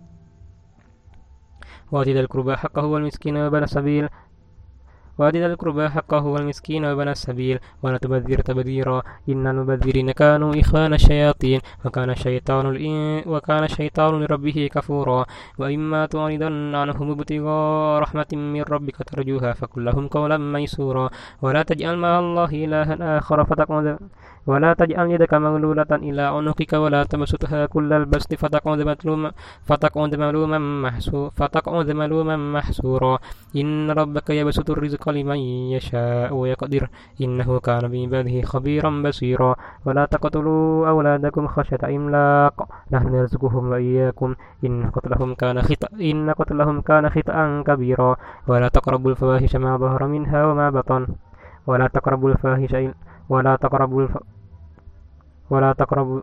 وآت ذا القربى حقه والمسكين وابن السبيل وآت ذا القربى حقه والمسكين وابن السبيل ولا تبذر تبذيرا إن المبذرين كانوا إخوان الشياطين وكان الشيطان وكان الشيطان لربه كفورا وإما تعرضن عنهم ابتغاء رحمة من ربك ترجوها فقل لهم قولا ميسورا ولا تجعل مع الله إلها آخر فتقعد ولا تجعل يدك مغلولة إلى عنقك ولا تبسطها كل البسط فتقعد ملوما فتقعد ملوما محسورا فتقعد ملوما محسورا إن ربك يبسط الرزق لمن يشاء ويقدر إنه كان بعباده خبيرا بصيرا ولا تقتلوا أولادكم خشية إملاق نحن نرزقهم وإياكم إن قتلهم كان خطأ إن قتلهم كان خطأ كبيرا ولا تقربوا الفواحش ما ظهر منها وما بطن ولا تقربوا الفواحش ولا تقربوا الف... ولا تقربوا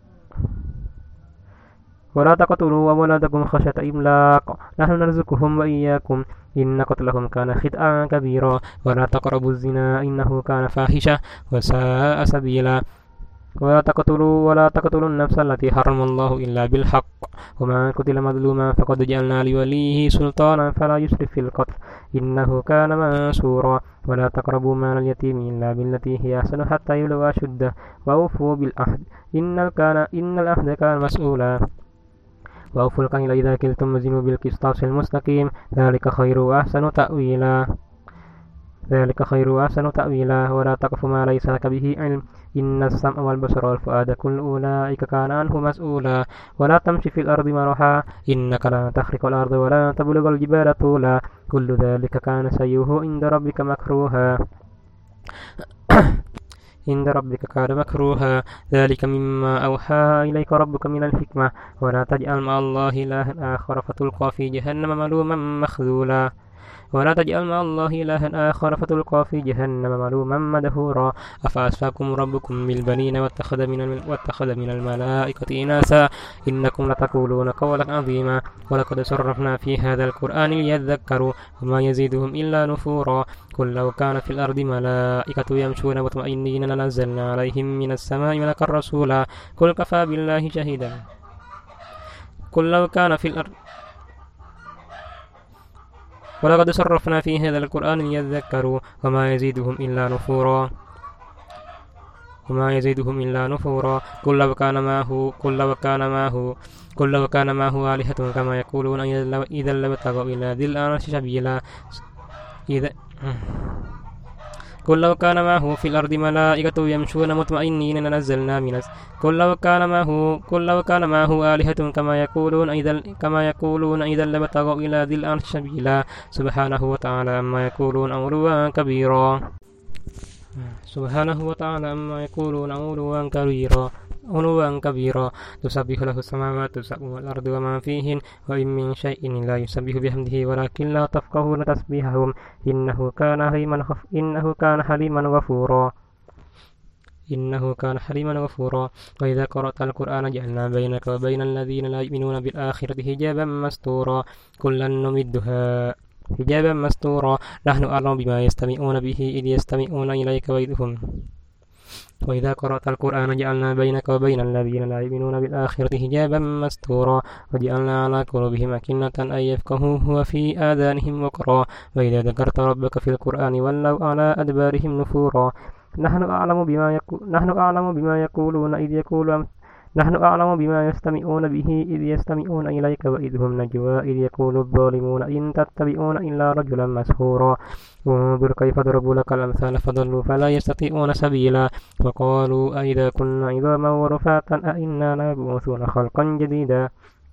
ولا تقتلوا أولادكم خشية إملاق نحن نرزقهم وإياكم إن قتلهم كان خطأ كبيرا ولا تقربوا الزنا إنه كان فاحشة وساء سبيلا ولا تقتلوا ولا تقتلوا النفس التي حرم الله إلا بالحق ومن قتل مظلوما فقد جعلنا لوليه سلطانا فلا يسرف في القتل إنه كان منصورا ولا تقربوا مال اليتيم إلا بالتي هي أحسن حتى يبلغ أشده وأوفوا بالعهد إن كان إن العهد كان مسؤولا وأوفوا الكيل إذا كلتم وزنوا بالقسطاس المستقيم ذلك خير وأحسن تأويلا ذلك خير وأحسن تأويلا ولا تقف ما ليس لك به علم إن السمع والبصر والفؤاد كل أولئك كان عنه مسؤولا ولا تمشي في الأرض مرحا إنك لا تخرق الأرض ولا تبلغ الجبال طولا كل ذلك كان سيئه عند ربك مكروها عند ربك كان مكروها ذلك مما أوحى إليك ربك من الحكمة ولا تجعل مع الله إلها آخر فتلقى في جهنم ملوما مخذولا ولا تجعل مع الله إلها آخر فتلقى في جهنم ملوما مدحورا أفأسفاكم ربكم بالبنين واتخذ من واتخذ من الملائكة إناثا إنكم لتقولون قولا عظيما ولقد صرفنا في هذا القرآن ليذكروا وما يزيدهم إلا نفورا قل لو كان في الأرض ملائكة يمشون مطمئنين لنزلنا عليهم من السماء ملكا رسولا قل كفى بالله شهيدا قل لو كان في الأرض ولقد صرفنا في هذا القرآن ليذكروا وما يزيدهم إلا نفورا وما يزيدهم إلا نفورا قل لو كان معه قل لو كان معه قل لو كان معه آلهة كما يقولون إذا لابتغوا إلى ذي العرش سبيلا إذا قل لو كان معه في الأرض ملائكة يمشون مطمئنين لنزلنا من قل لو كان معه قل لو كان معه آلهة كما يقولون إذا كما يقولون إذا لابتغوا إلى ذي العرش سبيلا سبحانه وتعالى عما يقولون علوا كبيرا سبحانه وتعالى عما يقولون علوا كبيرا علوا كبيرا تسبح له السماوات السبع والأرض وما فيهن وإن من شيء لا يسبح بحمده ولكن لا تفقهون تسبيحهم إنه كان حليما غف... إنه كان حليما غفورا إنه كان حليما غفورا وإذا قرأت القرآن جعلنا بينك وبين الذين لا يؤمنون بالآخرة حجابا مستورا كلا نمدها حجابا مستورا نحن أعلم بما يستمعون به إذ يستمعون إليك وإذهم وإذا قرأت القرآن جعلنا بينك وبين الذين لا يؤمنون بالآخرة حجابا مستورا وجعلنا على قلوبهم أكنة أن يفقهوه وفي آذانهم وقرا وإذا ذكرت ربك في القرآن ولوا على أدبارهم نفورا نحن أعلم بما يقول نحن أعلم بما يقولون إذ يقول نحن أعلم بما يستمعون به إذ يستمعون إليك وإذ هم نجوى إذ يقول الظالمون إن تتبعون إلا رجلا مسحورا انظر كيف ضربوا لك الأمثال فضلوا فلا يستطيعون سبيلا وقالوا أئذا كنا عظاما ورفاتا أئنا لمبعوثون خلقا جديدا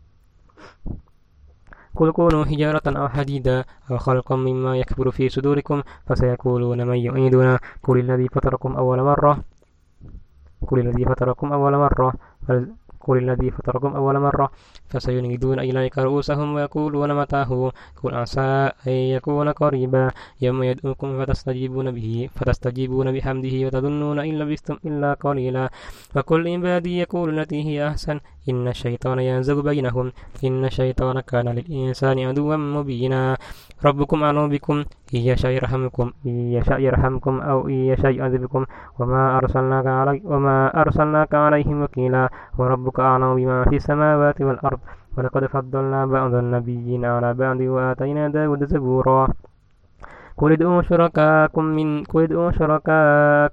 قل كونوا حجارة أو حديدا أو خلقا مما يكبر في صدوركم فسيقولون من يعيدنا قل الذي فطركم أول مرة قل الذي فطركم أول مرة قل الذي فطركم أول مرة فسينغضون إليك رؤوسهم ويقولون متى هو قل عسى أن يكون قريبا يوم يدعوكم فتستجيبون به فتستجيبون بحمده وتظنون إن لبثتم إلا قليلا وكل عبادي يقول التي هي أحسن إن الشيطان ينزغ بينهم إن الشيطان كان للإنسان عدوا مبينا ربكم أعلم بكم إن يشاء يرحمكم إن يشاء يرحمكم أو إن يشاء يعذبكم وما أرسلناك علي وما أرسلناك عليهم وكيلا وربك أعلم بما في السماوات والأرض ولقد فضلنا بعض النبيين على بعض وآتينا داود زبورا قل ادعوا شركاءكم من قل ادعوا شركاء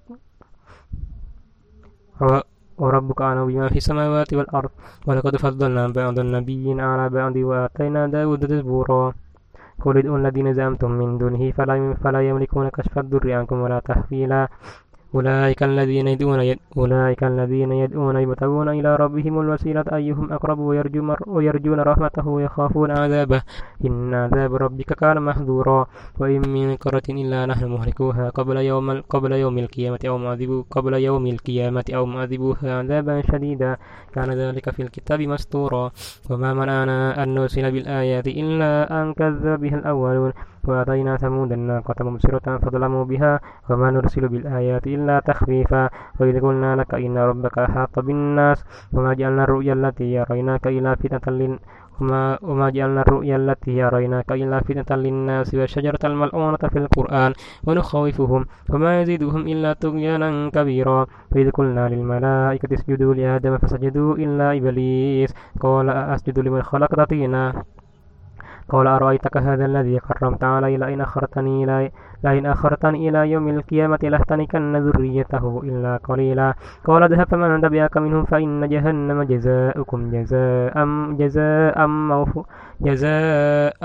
وربك أعلم بما في السماوات والأرض ولقد فضلنا بعض النبيين على بعض وآتينا داود زبورا قل ادعوا الذين زعمتم من دونه فلا, فلا يملكون كشف الضر عنكم ولا تحويلا أولئك الذين يدعون يد... أولئك الذين يدعون يبتغون إلى ربهم الوسيلة أيهم أقرب ويرجون, ويرجون رحمته ويخافون عذابه إن عذاب ربك كان محذورا وإن من قرة إلا نحن مهلكوها قبل يوم قبل يوم القيامة أو معذبو قبل يوم القيامة أو معذبوها عذابا شديدا كان ذلك في الكتاب مسطورا وما منعنا أن نرسل بالآيات إلا أن كذب بها الأولون وآتينا ثمود الناقة مبصرة فظلموا بها وما نرسل بالآيات إلا تخفيفا وإذ قلنا لك إن ربك أحاط بالناس وما جعلنا الرؤيا التي يريناك إلا فتنة للناس وما, وما جعلنا الرؤيا التي يريناك إلا فتنة للناس والشجرة الملعونة في القرآن ونخوفهم وما يزيدهم إلا طغيانا كبيرا وإذ قلنا للملائكة اسجدوا لآدم فسجدوا إلا إبليس قال أسجد لمن خلقت طينا قال أرأيتك هذا الذي كرمت علي لئن أخرتني إلى لئن أخرتني إلى يوم القيامة لأحتنكن ذريته إلا قليلا قال اذهب فمن تبعك منهم فإن جهنم جزاؤكم جزاء جزاء موفو جزاء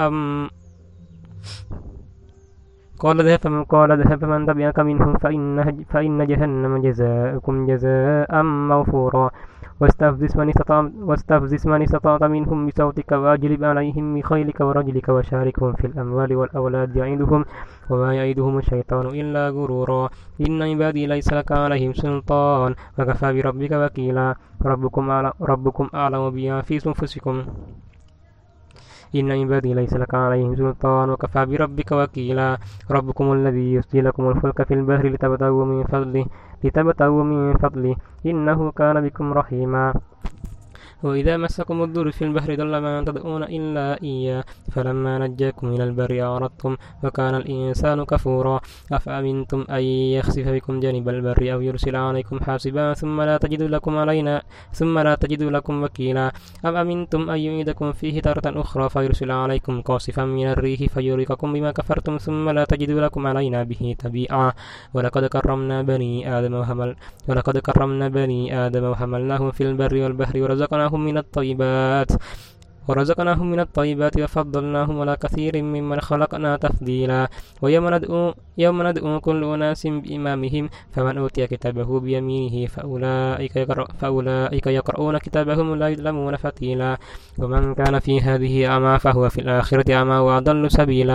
قال اذهب قال اذهب فمن تبعك منهم فإن فإن جهنم جزاؤكم جزاء موفورا واستفزز من استطعت واستفزز من استطعت منهم بصوتك وأجلب عليهم بخيلك ورجلك وشاركهم في الأموال والأولاد يعيدهم وما يعيدهم الشيطان إلا غرورا إن عبادي ليس لك عليهم سلطان وكفى بربك وكيلا ربكم أعلم ربكم أعلم بما في أنفسكم إن عبادي ليس لك عليهم سلطان وكفى بربك وكيلا ربكم الذي يسجي لكم الفلك في البحر لتبتغوا من فضله لتبتغوا من فضله إنه كان بكم رحيما وإذا مسكم الضر في البحر ضل ما تدعون إلا إياه فلما نجاكم إلى البر أعرضتم وكان الإنسان كفورا أفأمنتم أن يخسف بكم جانب البر أو يرسل عليكم حاسبا ثم لا تجدوا لكم علينا ثم لا تجدوا لكم وكيلا أم أمنتم أن يعيدكم فيه تارة أخرى فيرسل عليكم قاصفا من الريح فيغرقكم بما كفرتم ثم لا تجدوا لكم علينا به تبيعا ولقد كرمنا بني آدم وحمل ولقد كرمنا بني آدم وحملناهم في البر والبحر ورزقناهم من الطيبات ورزقناهم من الطيبات وفضلناهم على كثير ممن خلقنا تفضيلا ويوم ندعو يوم ندعو كل أناس بإمامهم فمن أوتي كتابه بيمينه فأولئك يقرأ فأولئك يقرؤون كتابهم لا يظلمون فتيلا ومن كان في هذه أعمى فهو في الآخرة أعمى وأضل سبيلا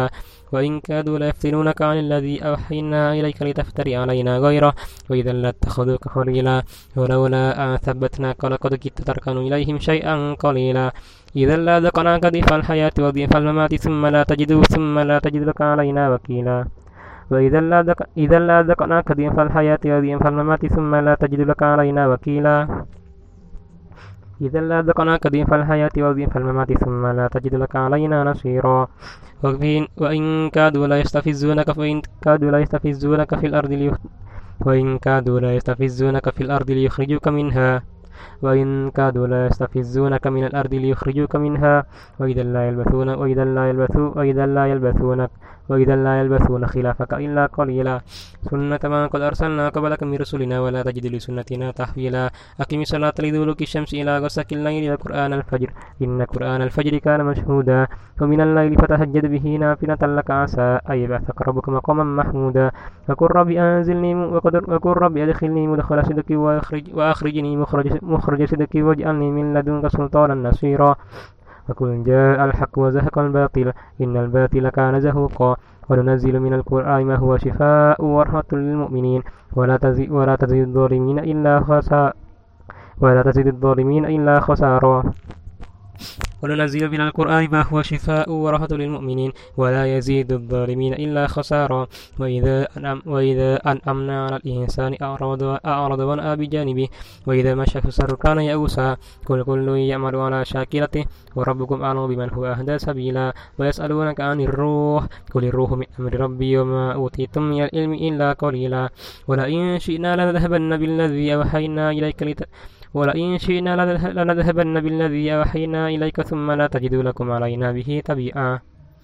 وإن كادوا ليفتنونك عن الذي أوحينا إليك لتفتري علينا غيره وإذا لاتخذوك خليلا ولولا أن ثبتناك لقد كدت تركن إليهم شيئا قليلا إذا لذقناك ضيف الحياة وضيف الممات ثم لا تجد ثم لا تجد لك علينا وكيلا وإذا لذق إذا لذقناك ضيف الحياة وضيف الممات ثم لا تجد لك علينا وكيلا إذا لذقناك ضيف الحياة وضيف الممات ثم لا تجد لك علينا نصيرا وإن كادوا لا يستفزونك فإن كادوا لا يستفزونك في الأرض ليخ... وإن كادوا لا يستفزونك في الأرض ليخرجوك منها وإن كادوا لا يستفزونك من الأرض ليخرجوك منها وإذا لا يلبثون وإذا لا يلبثون وإذا لا يلبثونك وإذا لا يلبثون خلافك إلا قليلا سنة من قد أرسلنا قبلك من رسلنا ولا تجد لسنتنا تحويلا أقم الصلاة لدلوك الشمس إلى غسق الليل وقرآن الفجر إن قرآن الفجر كان مشهودا ومن الليل فتهجد به نافلة لك عسى أن يبعثك ربك مقاما محمودا وقل رب أنزلني وقل رب أدخلني مدخل صدق وأخرجني مخرج مخرج صدق واجعلني من لدنك سلطانا نصيرا وقل جاء الحق وزهق الباطل إن الباطل كان زهوقا وننزل من القرآن ما هو شفاء ورحمة للمؤمنين ولا تزيد ولا تزيد الظالمين إلا خسارا ولا تزيد الظالمين إلا خسارا وننزل من القرآن ما هو شفاء ورحمة للمؤمنين ولا يزيد الظالمين إلا خسارا وإذا أنعم وإذا أنعمنا على الإنسان أعرض أعرض ونأى بجانبه وإذا مشى في السر كان يئوسا قل كل يعمل على شاكلته وربكم أعلم بمن هو أهدى سبيلا ويسألونك عن الروح قل الروح من أمر ربي وما أوتيتم من العلم إلا قليلا ولئن شئنا لنذهبن بالذي أوحينا إليك لت ولئن شئنا لنذهبن بالذي أوحينا إليك ثم لا تجد لكم علينا به تبيعا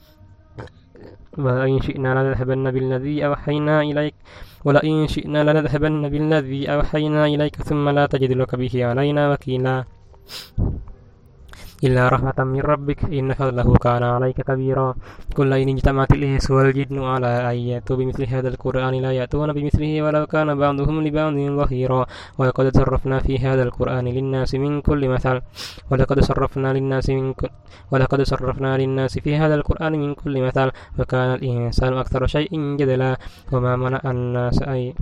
ولئن شئنا لنذهبن بالذي أوحينا إليك ولئن شئنا لنذهبن بالذي أوحينا إليك ثم لا تجد لك به علينا وكيلا إلا رحمة من ربك إن فضله كان عليك كبيرا كل إن اجتمعت الإنس والجن على أن يأتوا بمثل هذا القرآن لا يأتون بمثله ولو كان بعضهم لبعض ظهيرا ولقد صرفنا في هذا القرآن للناس من كل مثل ولقد صرفنا للناس من كل ولقد صرفنا للناس في هذا القرآن من كل مثل وكان الإنسان أكثر شيء جدلا وما منع الناس أي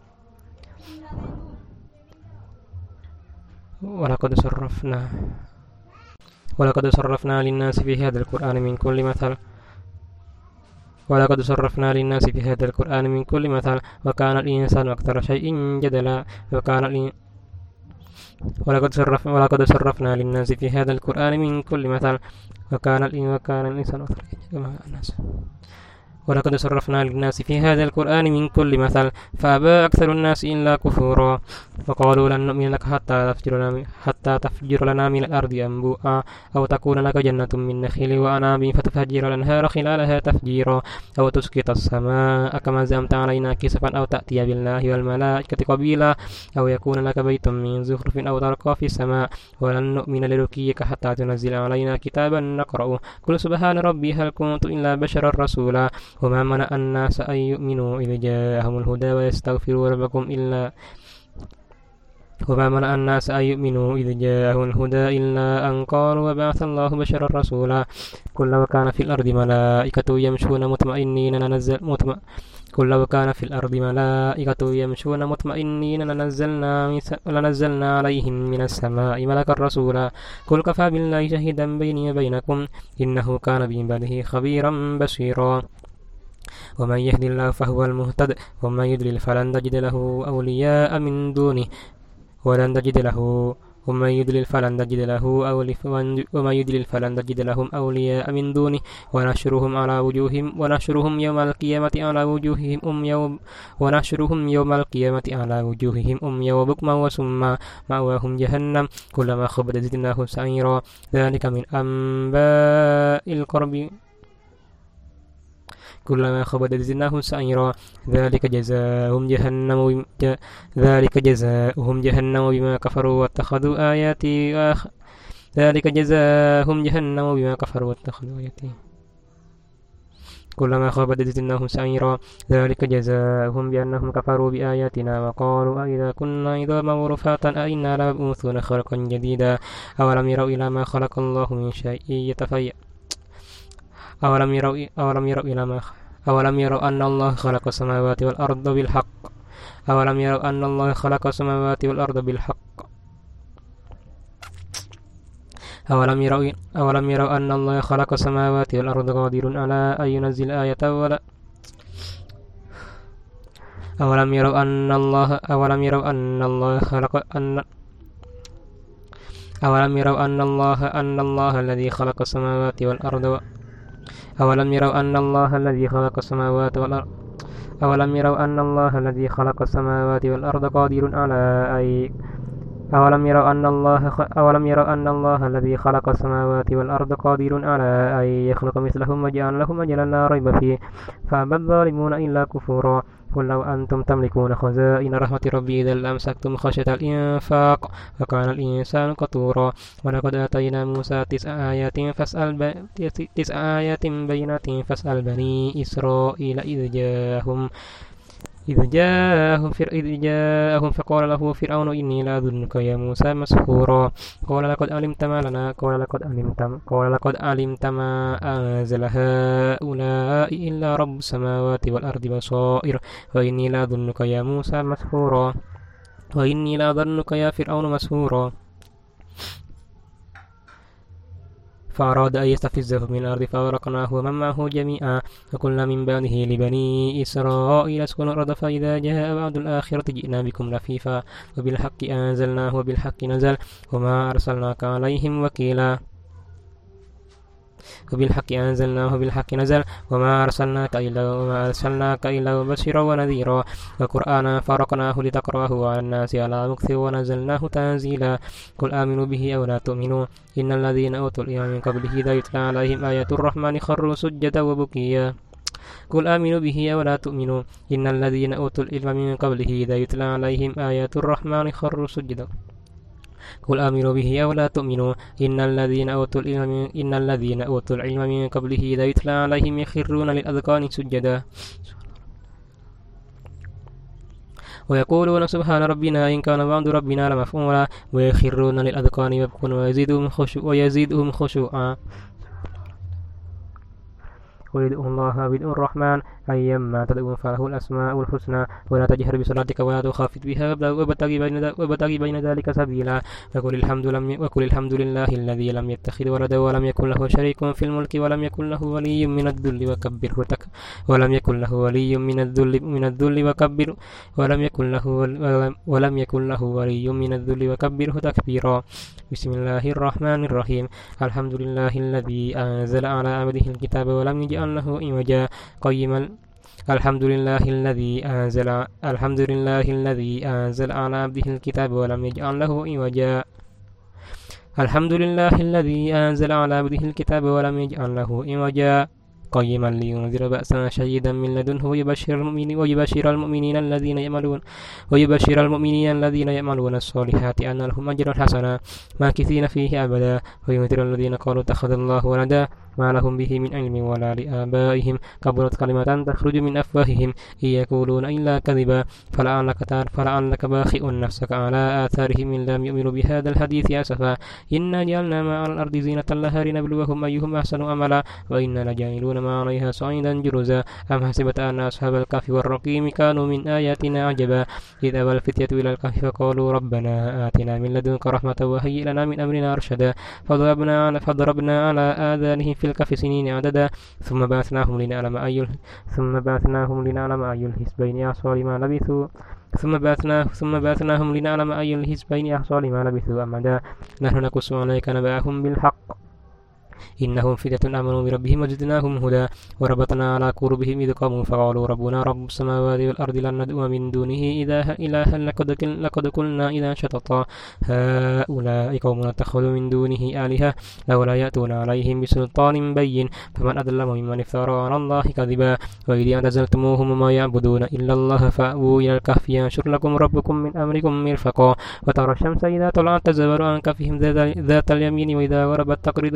ولقد صرفنا ولقد صرفنا للناس في هذا القرآن من كل مثل ولقد صرفنا للناس في هذا القرآن من كل مثل وكان الإنسان أكثر شيء جدلا وكان الإن... ولقد صرف ولقد صرفنا للناس في هذا القرآن من كل مثل وكان الإن... وكان الإنسان أكثر الناس ولقد صرفنا للناس في هذا القرآن من كل مثل فأبى أكثر الناس إلا كفورا وقالوا لن نؤمن لك حتى تفجر لنا حتى تفجر لنا من الأرض أنبوءا أو تكون لك جنة من نخيل وأعناب فتفجر الأنهار خلالها تفجيرا أو تسقط السماء كما زعمت علينا كسفا أو تأتي بالله والملائكة قبيلا أو يكون لك بيت من زخرف أو ترقى في السماء ولن نؤمن لرقيك حتى تنزل علينا كتابا نقرأه قل سبحان ربي هل كنت إلا بشرا رسولا وما منع الناس أن يؤمنوا إذ جاءهم الهدى ويستغفروا ربكم إلا وما منع الناس أن يؤمنوا إذ جاءهم الهدى إلا أن قالوا وبعث الله بشرا رسولا قل لو كان في الأرض ملائكة يمشون مطمئنين لنزل مطمئن قل لو كان في الأرض ملائكة يمشون مطمئنين لنزلنا لنزلنا عليهم من السماء ملكا رسولا قل كفى بالله شهيدا بيني وبينكم إنه كان بعباده خبيرا بصيرا ومن يهد الله فهو المهتد ومن يضلل فلن تجد له أولياء من دونه ولن تجد له ومن يضلل فلن تجد له ومن يضلل فلن تجد لهم أولياء من دونه ونحشرهم على وجوههم ونحشرهم يوم القيامة على وجوههم أم يوم ونحشرهم يوم القيامة على وجوههم أميا وبكما وسما مأواهم جهنم كلما خبت زدناهم سعيرا ذلك من أنباء القرب كلما خبت زدناهم سعيرا ذلك جزاؤهم جهنم ذلك جزاؤهم جهنم بما كفروا واتخذوا آياتي وآخ... ذلك جزاؤهم جهنم بما كفروا واتخذوا آياتي كلما خبت زدناهم سعيرا ذلك جزاؤهم بأنهم كفروا بآياتنا وقالوا أئذا كنا عظاما ورفاتا أئنا لمبعوثون خلقا جديدا أولم يروا إلى ما خلق الله من شيء يتفيأ أولم يروا أولم يروا إلى ما أولم يروا أن الله خلق السماوات والأرض بالحق أولم يروا أن الله خلق السماوات والأرض بالحق أولم يروا أولم يروا أن الله خلق السماوات والأرض قادر على أن ينزل آية ولا أولم يروا أن الله أولم يروا أن الله خلق أن أولم يروا أن الله أن الله الذي خلق السماوات والأرض أولم يروا أن الله الذي خلق السماوات والأرض أولم يروا أن الله الذي خلق السماوات والأرض قادر على أن أولم يروا أن الله خ... أولم يروا أن الله الذي خلق السماوات والأرض قادر على أن يخلق مثلهم وجعل لهم أجلا لا ريب فيه فأبى الظالمون إلا كفورا قل لو أنتم تملكون خزائن رحمة ربي إذا لأمسكتم خشية الإنفاق وكان الإنسان قتورا ولقد آتينا موسى تسع آيات فاسأل ب... تسع آيات بينات فاسأل بني إسرائيل إذ جاءهم إذ جاءهم فر... إذ جاءهم فقال له فرعون إني لأظنك يا موسى مسحورا قال لقد علمت ما لنا قال لقد علمت قال لقد علمت ما أنزل هؤلاء إلا رب السماوات والأرض بصائر وإني لأظنك يا موسى مسحورا وإني لأظنك يا فرعون مسحورا فأراد أن يستفزه من الأرض فأغرقناه ومن معه جميعا وقلنا من بعده لبني إسرائيل اسكنوا الأرض فإذا جاء وعد الآخرة جئنا بكم لفيفا وبالحق أنزلناه وبالحق نزل وما أرسلناك عليهم وكيلا وبالحق أنزلناه وبالحق نزل وما أرسلناك إلا وما أرسلناك إلا مبشرا ونذيرا وقرآنا فرقناه لتقرأه على الناس على مكث ونزلناه تنزيلا قل آمنوا به أو لا تؤمنوا إن الذين أوتوا العلم من قبله إذا يتلى عليهم آيات الرحمن خروا سجدا وبكيا قل آمنوا به أو لا تؤمنوا إن الذين أوتوا العلم من قبله إذا يتلى عليهم آيات الرحمن خروا سجدا قل آمنوا به أو لا تؤمنوا إن الذين أوتوا العلم إن الذين أوتوا العلم من قبله إذا يتلى عليهم يخرون للأذقان سجدا ويقولون سبحان ربنا إن كان وعد ربنا لمفعولا ويخرون للأذقان يبكون ويزيدهم خشوع ويزيدهم خشوعا ويدعو الله ويدعو الرحمن أيما تدعو فله الأسماء الحسنى ولا تجهر بصلاتك ولا تخافت بها وابتغ بين وابتغ بين ذلك سبيلا وقل الحمد لم وقل الحمد لله الذي لم يتخذ ولدا ولم يكن له شريك في الملك ولم يكن له ولي من الذل وكبره تك ولم يكن له ولي من الذل من الذل وكبر ولم يكن له ولم يكن له ولي من الذل وكبره تكبيرا بسم الله الرحمن الرحيم الحمد لله الذي أنزل على عبده الكتاب ولم يجعل له عوجا قيما الحمد لله الذي أنزل الحمد لله الذي أنزل على عبده الكتاب ولم يجعل له عوجا الحمد لله الذي أنزل على عبده الكتاب ولم يجعل له عوجا قيما لينذر بأسا شديدا من لدنه ويبشر المؤمنين ويبشر المؤمنين الذين يعملون ويبشر المؤمنين الذين يعملون الصالحات أن لهم أجرا حسنا ماكثين فيه أبدا وينذر الذين قالوا اتخذ الله ولدا ما لهم به من علم ولا لآبائهم كبرت كلمة تخرج من أفواههم إن يقولون إلا كذبا فلعلك فلعلك باخئ نفسك على آثارهم إن لم يؤمنوا بهذا الحديث أسفا إنا جعلنا ما على الأرض زينة لها لنبلوهم أيهم أحسن عملا وإنا لجاعلون ما عليها صعيدا جرزا أم حسبت أن أصحاب الكهف والرقيم كانوا من آياتنا عجبا إذ أوى الفتية إلى الكهف فقالوا ربنا آتنا من لدنك رحمة وهيئ لنا من أمرنا رشدا فضربنا على فضربنا على آذانهم في الكهف سنين عددا ثم بعثناهم لنعلم أي ثم بعثناهم لنعلم أي الحزبين أحصى لما لبثوا ثم بعثناه ثم بعثناهم لنعلم أي الحزبين أحصى لما لبثوا أمدا نحن نقص عليك نبأهم بالحق إنهم فتية آمنوا بربهم وزدناهم هدى وربطنا على قلوبهم إذ قاموا فقالوا ربنا رب السماوات والأرض لن ندعو من دونه إلها لقد قلنا إذا شططا هؤلاء قوم اتخذوا من دونه آلهة لولا يأتون عليهم بسلطان بين فمن أظلم ممن افترى على الله كذبا وإذ اعتزلتموهم وما يعبدون إلا الله فأووا إلى الكهف ينشر لكم ربكم من أمركم مرفقا وترى الشمس إذا طلعت تزور عن كهفهم ذات اليمين وإذا غربت تقرضهم ذات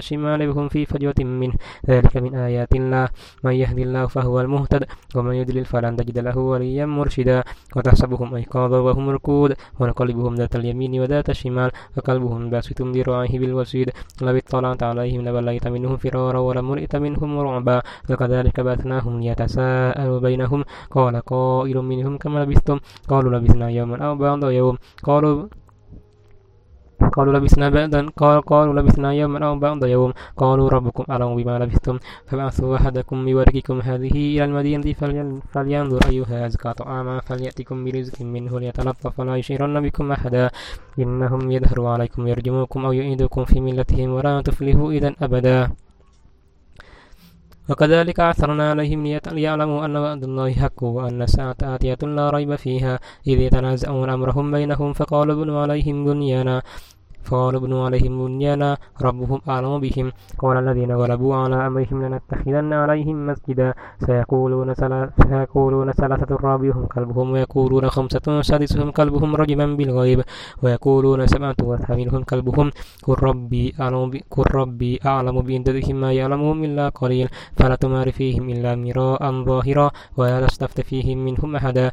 الشمال وهم في فجوة منه ذلك من آيات الله من يهد الله فهو المهتد ومن يضلل فلن تجد له وليا مرشدا وتحسبهم أيقاظا وهم ركود ونقلبهم ذات اليمين وذات الشمال وقلبهم باسط ذراعيه بالوسيد لو اطلعت عليهم لوليت منهم فرارا ولملئت منهم رعبا وكذلك بعثناهم ليتساءلوا بينهم قال قائل منهم كم لبثتم قالوا لبثنا يوما أو بعض يوم قالوا قالوا لبثنا بعدا قال قالوا لبثنا يوما أو بعض يوم قالوا ربكم أعلم بما لبثتم فبعثوا أحدكم بورقكم هذه إلى المدينة فلينظر أيها أزكى طعاما فليأتكم برزق منه ليتلطف ولا يشعرن بكم أحدا إنهم يظهروا عليكم يرجموكم أو يعيدوكم في ملتهم ولا تفلحوا إذا أبدا وكذلك أعثرنا عليهم ليعلموا أن وعد الله حق وأن الساعة آتية لا ريب فيها إذ يتنازعون أمرهم بينهم فقالوا ابنوا عليهم بنيانا فقالوا ابنوا عليهم بنيانا ربهم أعلم بهم قال الذين غلبوا على أمرهم لنتخذن عليهم مسجدا سيقولون سيقولون ثلاثة رابعهم كلبهم ويقولون خمسة سادسهم كلبهم رجما بالغيب ويقولون سبعة وثامنهم كلبهم قل ربي أعلم قل ربي أعلم بعدتهم ما يعلمهم إلا قليل فلا تمار فيهم إلا مراء ظاهرا ولا تستفت فيهم منهم أحدا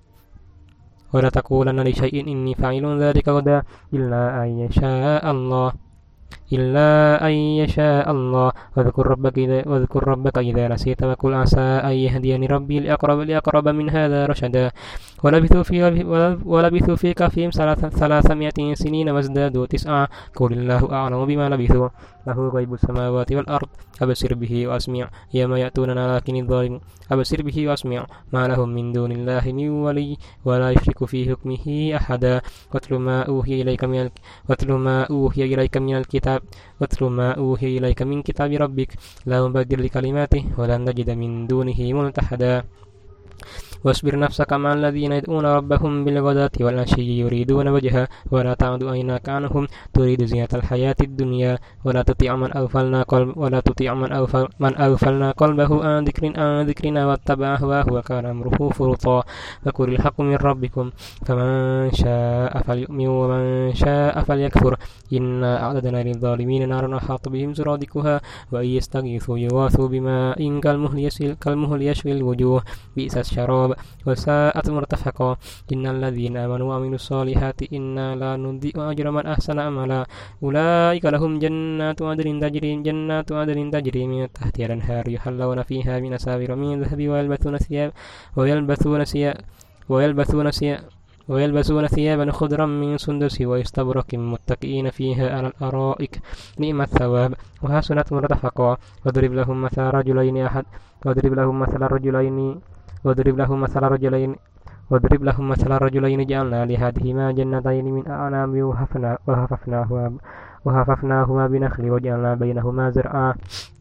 ولا تقولن لشيء إني فاعل ذلك غدا إلا أن يشاء الله إلا أن يشاء الله واذكر ربك إذا واذكر ربك إذا نسيت وقل عسى أن يهديني ربي لأقرب لأقرب من هذا رشدا ولبثوا في ولبثوا في كهفهم ثلاثمائة سنين وازدادوا تسعا قل الله أعلم بما لبثوا له غيب السماوات والأرض أبصر به وأسمع يوم يأتوننا لكن الظالم أبصر به وأسمع ما لهم من دون الله من ولي ولا يشرك في حكمه أحدا واتل ما أوحي إليك من واتل ما أوحي إليك من الكتاب واتل ما أوحي إليك من كتاب ربك لا مبدل لكلماته ولن تجد من دونه ملتحدا واصبر نفسك مع الذين يدعون ربهم بالغداة والعشي يريدون وجهه ولا تعد عيناك عنهم تريد زينة الحياة الدنيا ولا تطيع من أغفلنا قلب ولا تطيع من أغفل من أغفلنا قلبه عن ذكر عن ذكرنا واتبع هواه وكان أمره فرطا فقل الحق من ربكم فمن شاء فليؤمن ومن شاء فليكفر إنا أعددنا للظالمين نارا أحاط بهم سرادقها وإن يستغيثوا يغاثوا بماء كالمهل يشوي الوجوه بئس الشراب وساءت مرتفقا إن الذين آمنوا وعملوا الصالحات إنا لا نضيع أجر من أحسن عملا أولئك لهم جنات عدن تجري جنات عدن تجري من تحتها الأنهار يحلون فيها من أساور من ذهب ويلبسون ثياب ويلبسون ثياب ويلبسون ثياب ويلبسون ثيابا خضرا من سندس واستبرق متكئين فيها على الأرائك نعم الثواب وحسنت مرتفقا واضرب لهم مثل رجلين أحد واضرب لهم مثل رجلين واضرب لهم مثل رجلين واضرب لهم مثل رجلين جعلنا لأحدهما جنتين من أعناب وحففناهما وحففناهما بنخل وجعلنا بينهما زرعا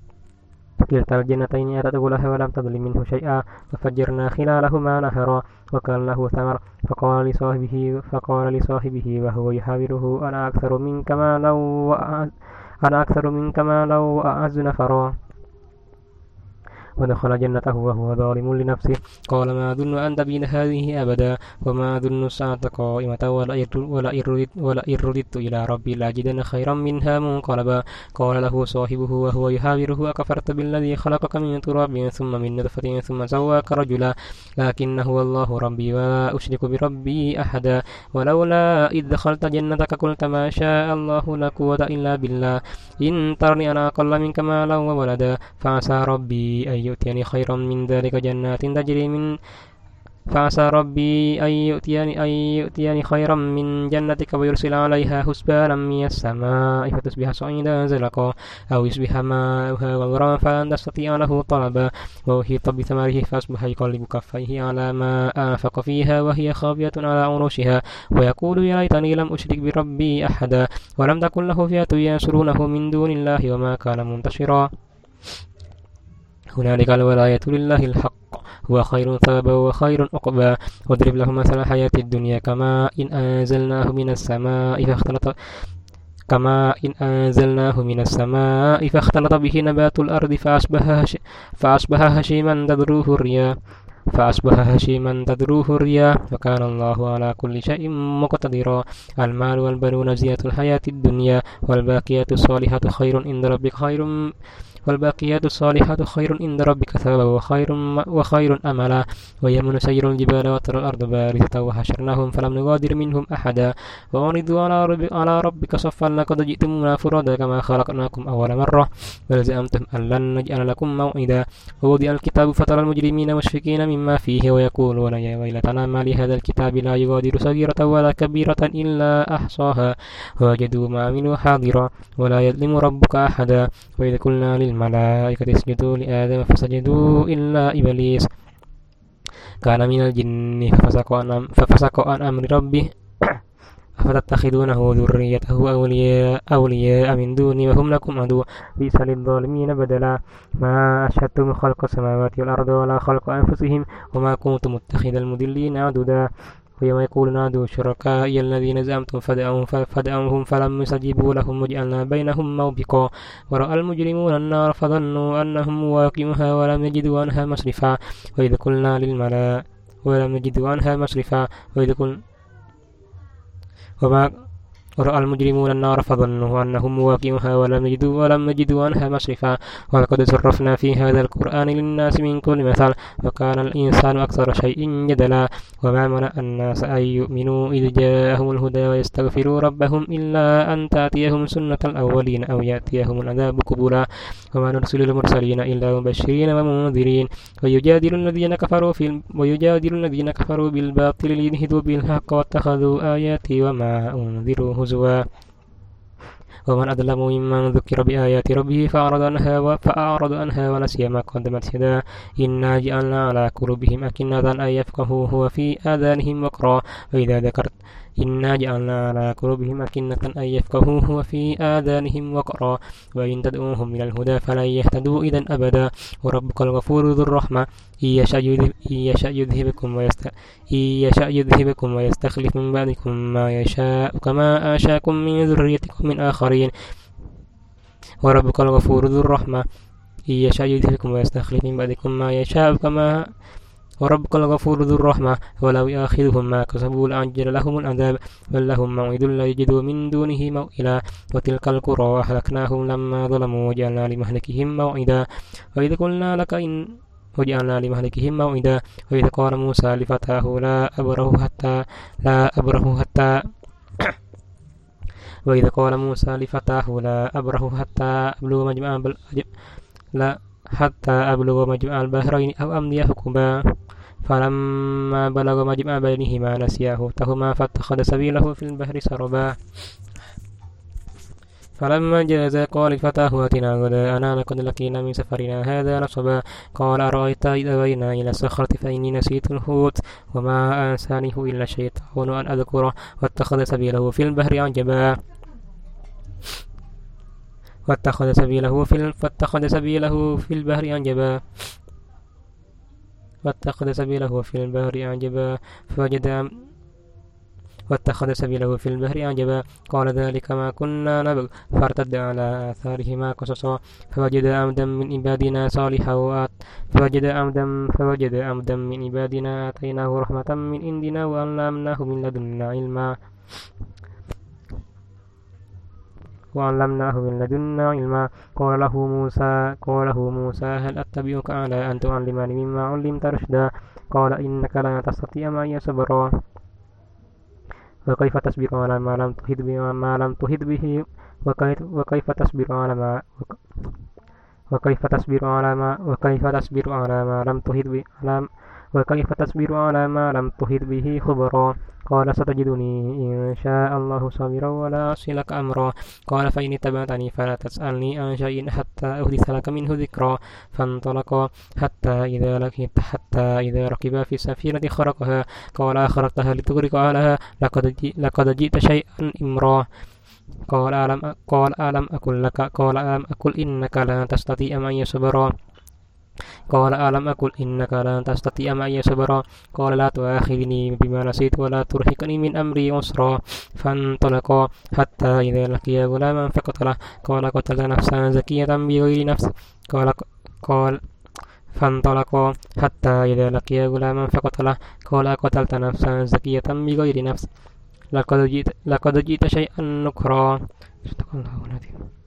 كلتا الجنتين آتت أكلها ولم تظلم منه شيئا وفجرنا خلالهما نهرا وكان له ثمر فقال لصاحبه فقال لصاحبه وهو يحاوره أنا أكثر منك مالا وأعز أنا أكثر منك مالا وأعز نفرا ودخل جنته وهو ظالم لنفسه قال ما أظن أن تبيد هذه أبدا وما أظن الساعة قائمة ولئن رددت إلى ربي لأجدن خيرا منها منقلبا قال له صاحبه وهو يحاوره أكفرت بالذي خلقك من تراب ثم من نطفة ثم سواك رجلا لكن هو الله ربي ولا أشرك بربي أحدا ولولا إذ دخلت جنتك قلت ما شاء الله لا قوة إلا بالله إن ترني أنا أقل منك مالا وولدا فعسى ربي أن يؤتيني خيرا من ذلك جنات تجري من فعسى ربي أن يؤتيني أن يؤتيني خيرا من جنتك ويرسل عليها حسبانا من السماء فتصبح صعيدا زلقا أو يصبح ماؤها غورا فلن تستطيع له طلبا وأحيط بثمره فأصبح يقلب كفيه على ما أنفق فيها وهي خاوية على عروشها ويقول يا ليتني لم أشرك بربي أحدا ولم تكن له فئة ينصرونه من دون الله وما كان منتصرا هنالك الولاية لله الحق هو خير ثوابا وخير عقبا واضرب لهم مثل الحياة الدنيا كما إن أنزلناه من السماء فاختلط كما إن أنزلناه من السماء فاختلط به نبات الأرض فأصبح فأصبح هشيما تذروه الرياح فأصبح هشيما تذروه الرياح وكان الله على كل شيء مقتدرا. المال والبنون زينة الحياة الدنيا والباقيات الصالحات خير عند ربك خير والباقيات الصالحات خير عند ربك ثوابا وخير وخير أملا. ويوم نسير الجبال وترى الأرض بارزة وحشرناهم فلم نغادر منهم أحدا وعرضوا على, رب على ربك صفا لقد جئتمونا فرادا كما خلقناكم أول مرة بل زعمتم أن لن نجعل لكم موعدا. ووضع الكتاب فترى المجرمين مشفقين مما فيه ويقولون يا ويلتنا ما لهذا الكتاب لا يغادر صغيرة ولا كبيرة إلا أحصاها ووجدوا ما عملوا حاضرا ولا يظلم ربك أحدا. وإذ قلنا للملائكة اسجدوا لآدم فسجدوا إلا إبليس كان من الجن ففسق عن ففسق عن أمر ربه أفتتخذونه ذريته أولياء أولياء من دوني وهم لكم عدو بئس للظالمين بدلا. ما أشهدتم خلق السماوات والأرض ولا خلق أنفسهم وما كنت متخذ المضلين عضدا. ويوم يقول نادوا شركائي الذين زعمتم فدعوهم فدعوهم فلم يستجيبوا لهم وجعلنا بينهم موبقا. ورأى المجرمون النار فظنوا أنهم واقعوها ولم يجدوا عنها مصرفا. وإذ قلنا للملائكة ولم يجدوا عنها مصرفا. وإذ قلنا وما ورأى المجرمون النار فظنوا أنهم مواقعوها ولم يجدوا ولم يجدوا عنها مصرفا. ولقد صرفنا في هذا القرآن للناس من كل مثل وكان الإنسان أكثر شيء جدلا. وما منع الناس أن يؤمنوا إذ جاءهم الهدى ويستغفروا ربهم إلا أن تأتيهم سنة الأولين أو يأتيهم العذاب قبلا. وما نرسل المرسلين إلا مبشرين ومنذرين ويجادل الذين كفروا في ويجادل الذين كفروا بالباطل ليدحضوا بالحق واتخذوا آياتي وما أنذروا هزوا. ومن أظلم ممن ذكر بآيات ربه فأعرض عنها فأعرض عنها ونسي ما قدمت يداه إنا جعلنا على قلوبهم أكنة أن يفقهوه وفي آذانهم وقرا. وإذا ذكرت إنا جعلنا على قلوبهم أكنة أن يفقهوه وفي آذانهم وقرا وإن تدعوهم إلى الهدى فلن يهتدوا إذا أبدا. وربك الغفور ذو الرحمة إن يشأ يذهبكم ويست إن يشأ يذهبكم ويستخلف من بعدكم ما يشاء كما أنشأكم من ذريتكم من آخرين. وربك الغفور ذو الرحمة إن يشأ يذهبكم ويستخلف من بعدكم ما يشاء كما وربك الغفور ذو الرحمة ولو يأخذهم ما كسبوا لعجل لهم العذاب بل لهم موعد لا يجدوا من دونه موئلا. وتلك القرى أهلكناهم لما ظلموا وجعلنا لمهلكهم موعدا. وإذ قلنا لك إن وجعلنا لمهلكهم موعدا. وإذ قال موسى لفتاه لا أبره حتى لا أبره حتى وإذ قال موسى لفتاه لا أبره حتى أبلغ مجمع لا حتى أبلغ مجمع البحرين أو أمضي حقبا فلما بلغ مجمع بينهما نسيا حوتهما فاتخذ سبيله في البحر سربا. فلما جاز قال فتاه آتنا غداءنا لقد لقينا من سفرنا هذا نصبا. قال أرأيت إذ أوينا إلى الصخرة فإني نسيت الحوت وما أنسانيه إلا الشيطان أن أذكره واتخذ سبيله في البحر عجبا. واتخذ سبيله في فاتخذ سبيله في البحر عجبا واتخذ سبيله في البحر عجبا فوجد واتخذ سبيله في البحر عجبا. قال ذلك ما كنا نبغ فارتد على آثارهما قصصا فوجد عبدا من عبادنا صالحا فوجد عبدا فوجد عبدا من عبادنا آتيناه رحمة من عندنا وعلمناه من لدنا علما وعلمناه من لدنا علما. قال له موسى قال له موسى هل أتبعك على أن تعلمني مما علمت رشدا. قال إنك لا تستطيع معي صبرا. وكيف تصبر على ما لم تحط به ما لم تحط به وكيف, وكيف تصبر على ما وكيف تصبر على ما وكيف تصبر على ما لم تحط به وكيف تصبر على ما لم تحط به خبرا. قال ستجدني إن شاء الله صابرا ولا أعصي لك أمرا. قال فإن اتبعتني فلا تسألني عن شيء حتى أحدث لك منه ذكرا. فانطلقا حتى إذا لقيت حتى إذا ركبا في السفينة خرقها قال أخرقتها لتغرق أهلها لقد لقد جئت شيئا إمرا. قال ألم قال ألم أقل لك قال ألم أقل إنك لا تستطيع معي صبرا. قال ألم أقل إنك لن تستطيع معي صبرا. قال لا تؤاخذني بما نسيت ولا ترهقني من أمري عسرا. فانطلقا حتى إذا لقيا غلاما فقتله قال قتلت نفسا زكية بغير نفس قال قال فانطلقا حتى إذا لقيا غلاما فقتله قال أقتلت نفسا زكية بغير نفس لقد جئت, لقد جئت شيئا نكرا. صدق الله العظيم.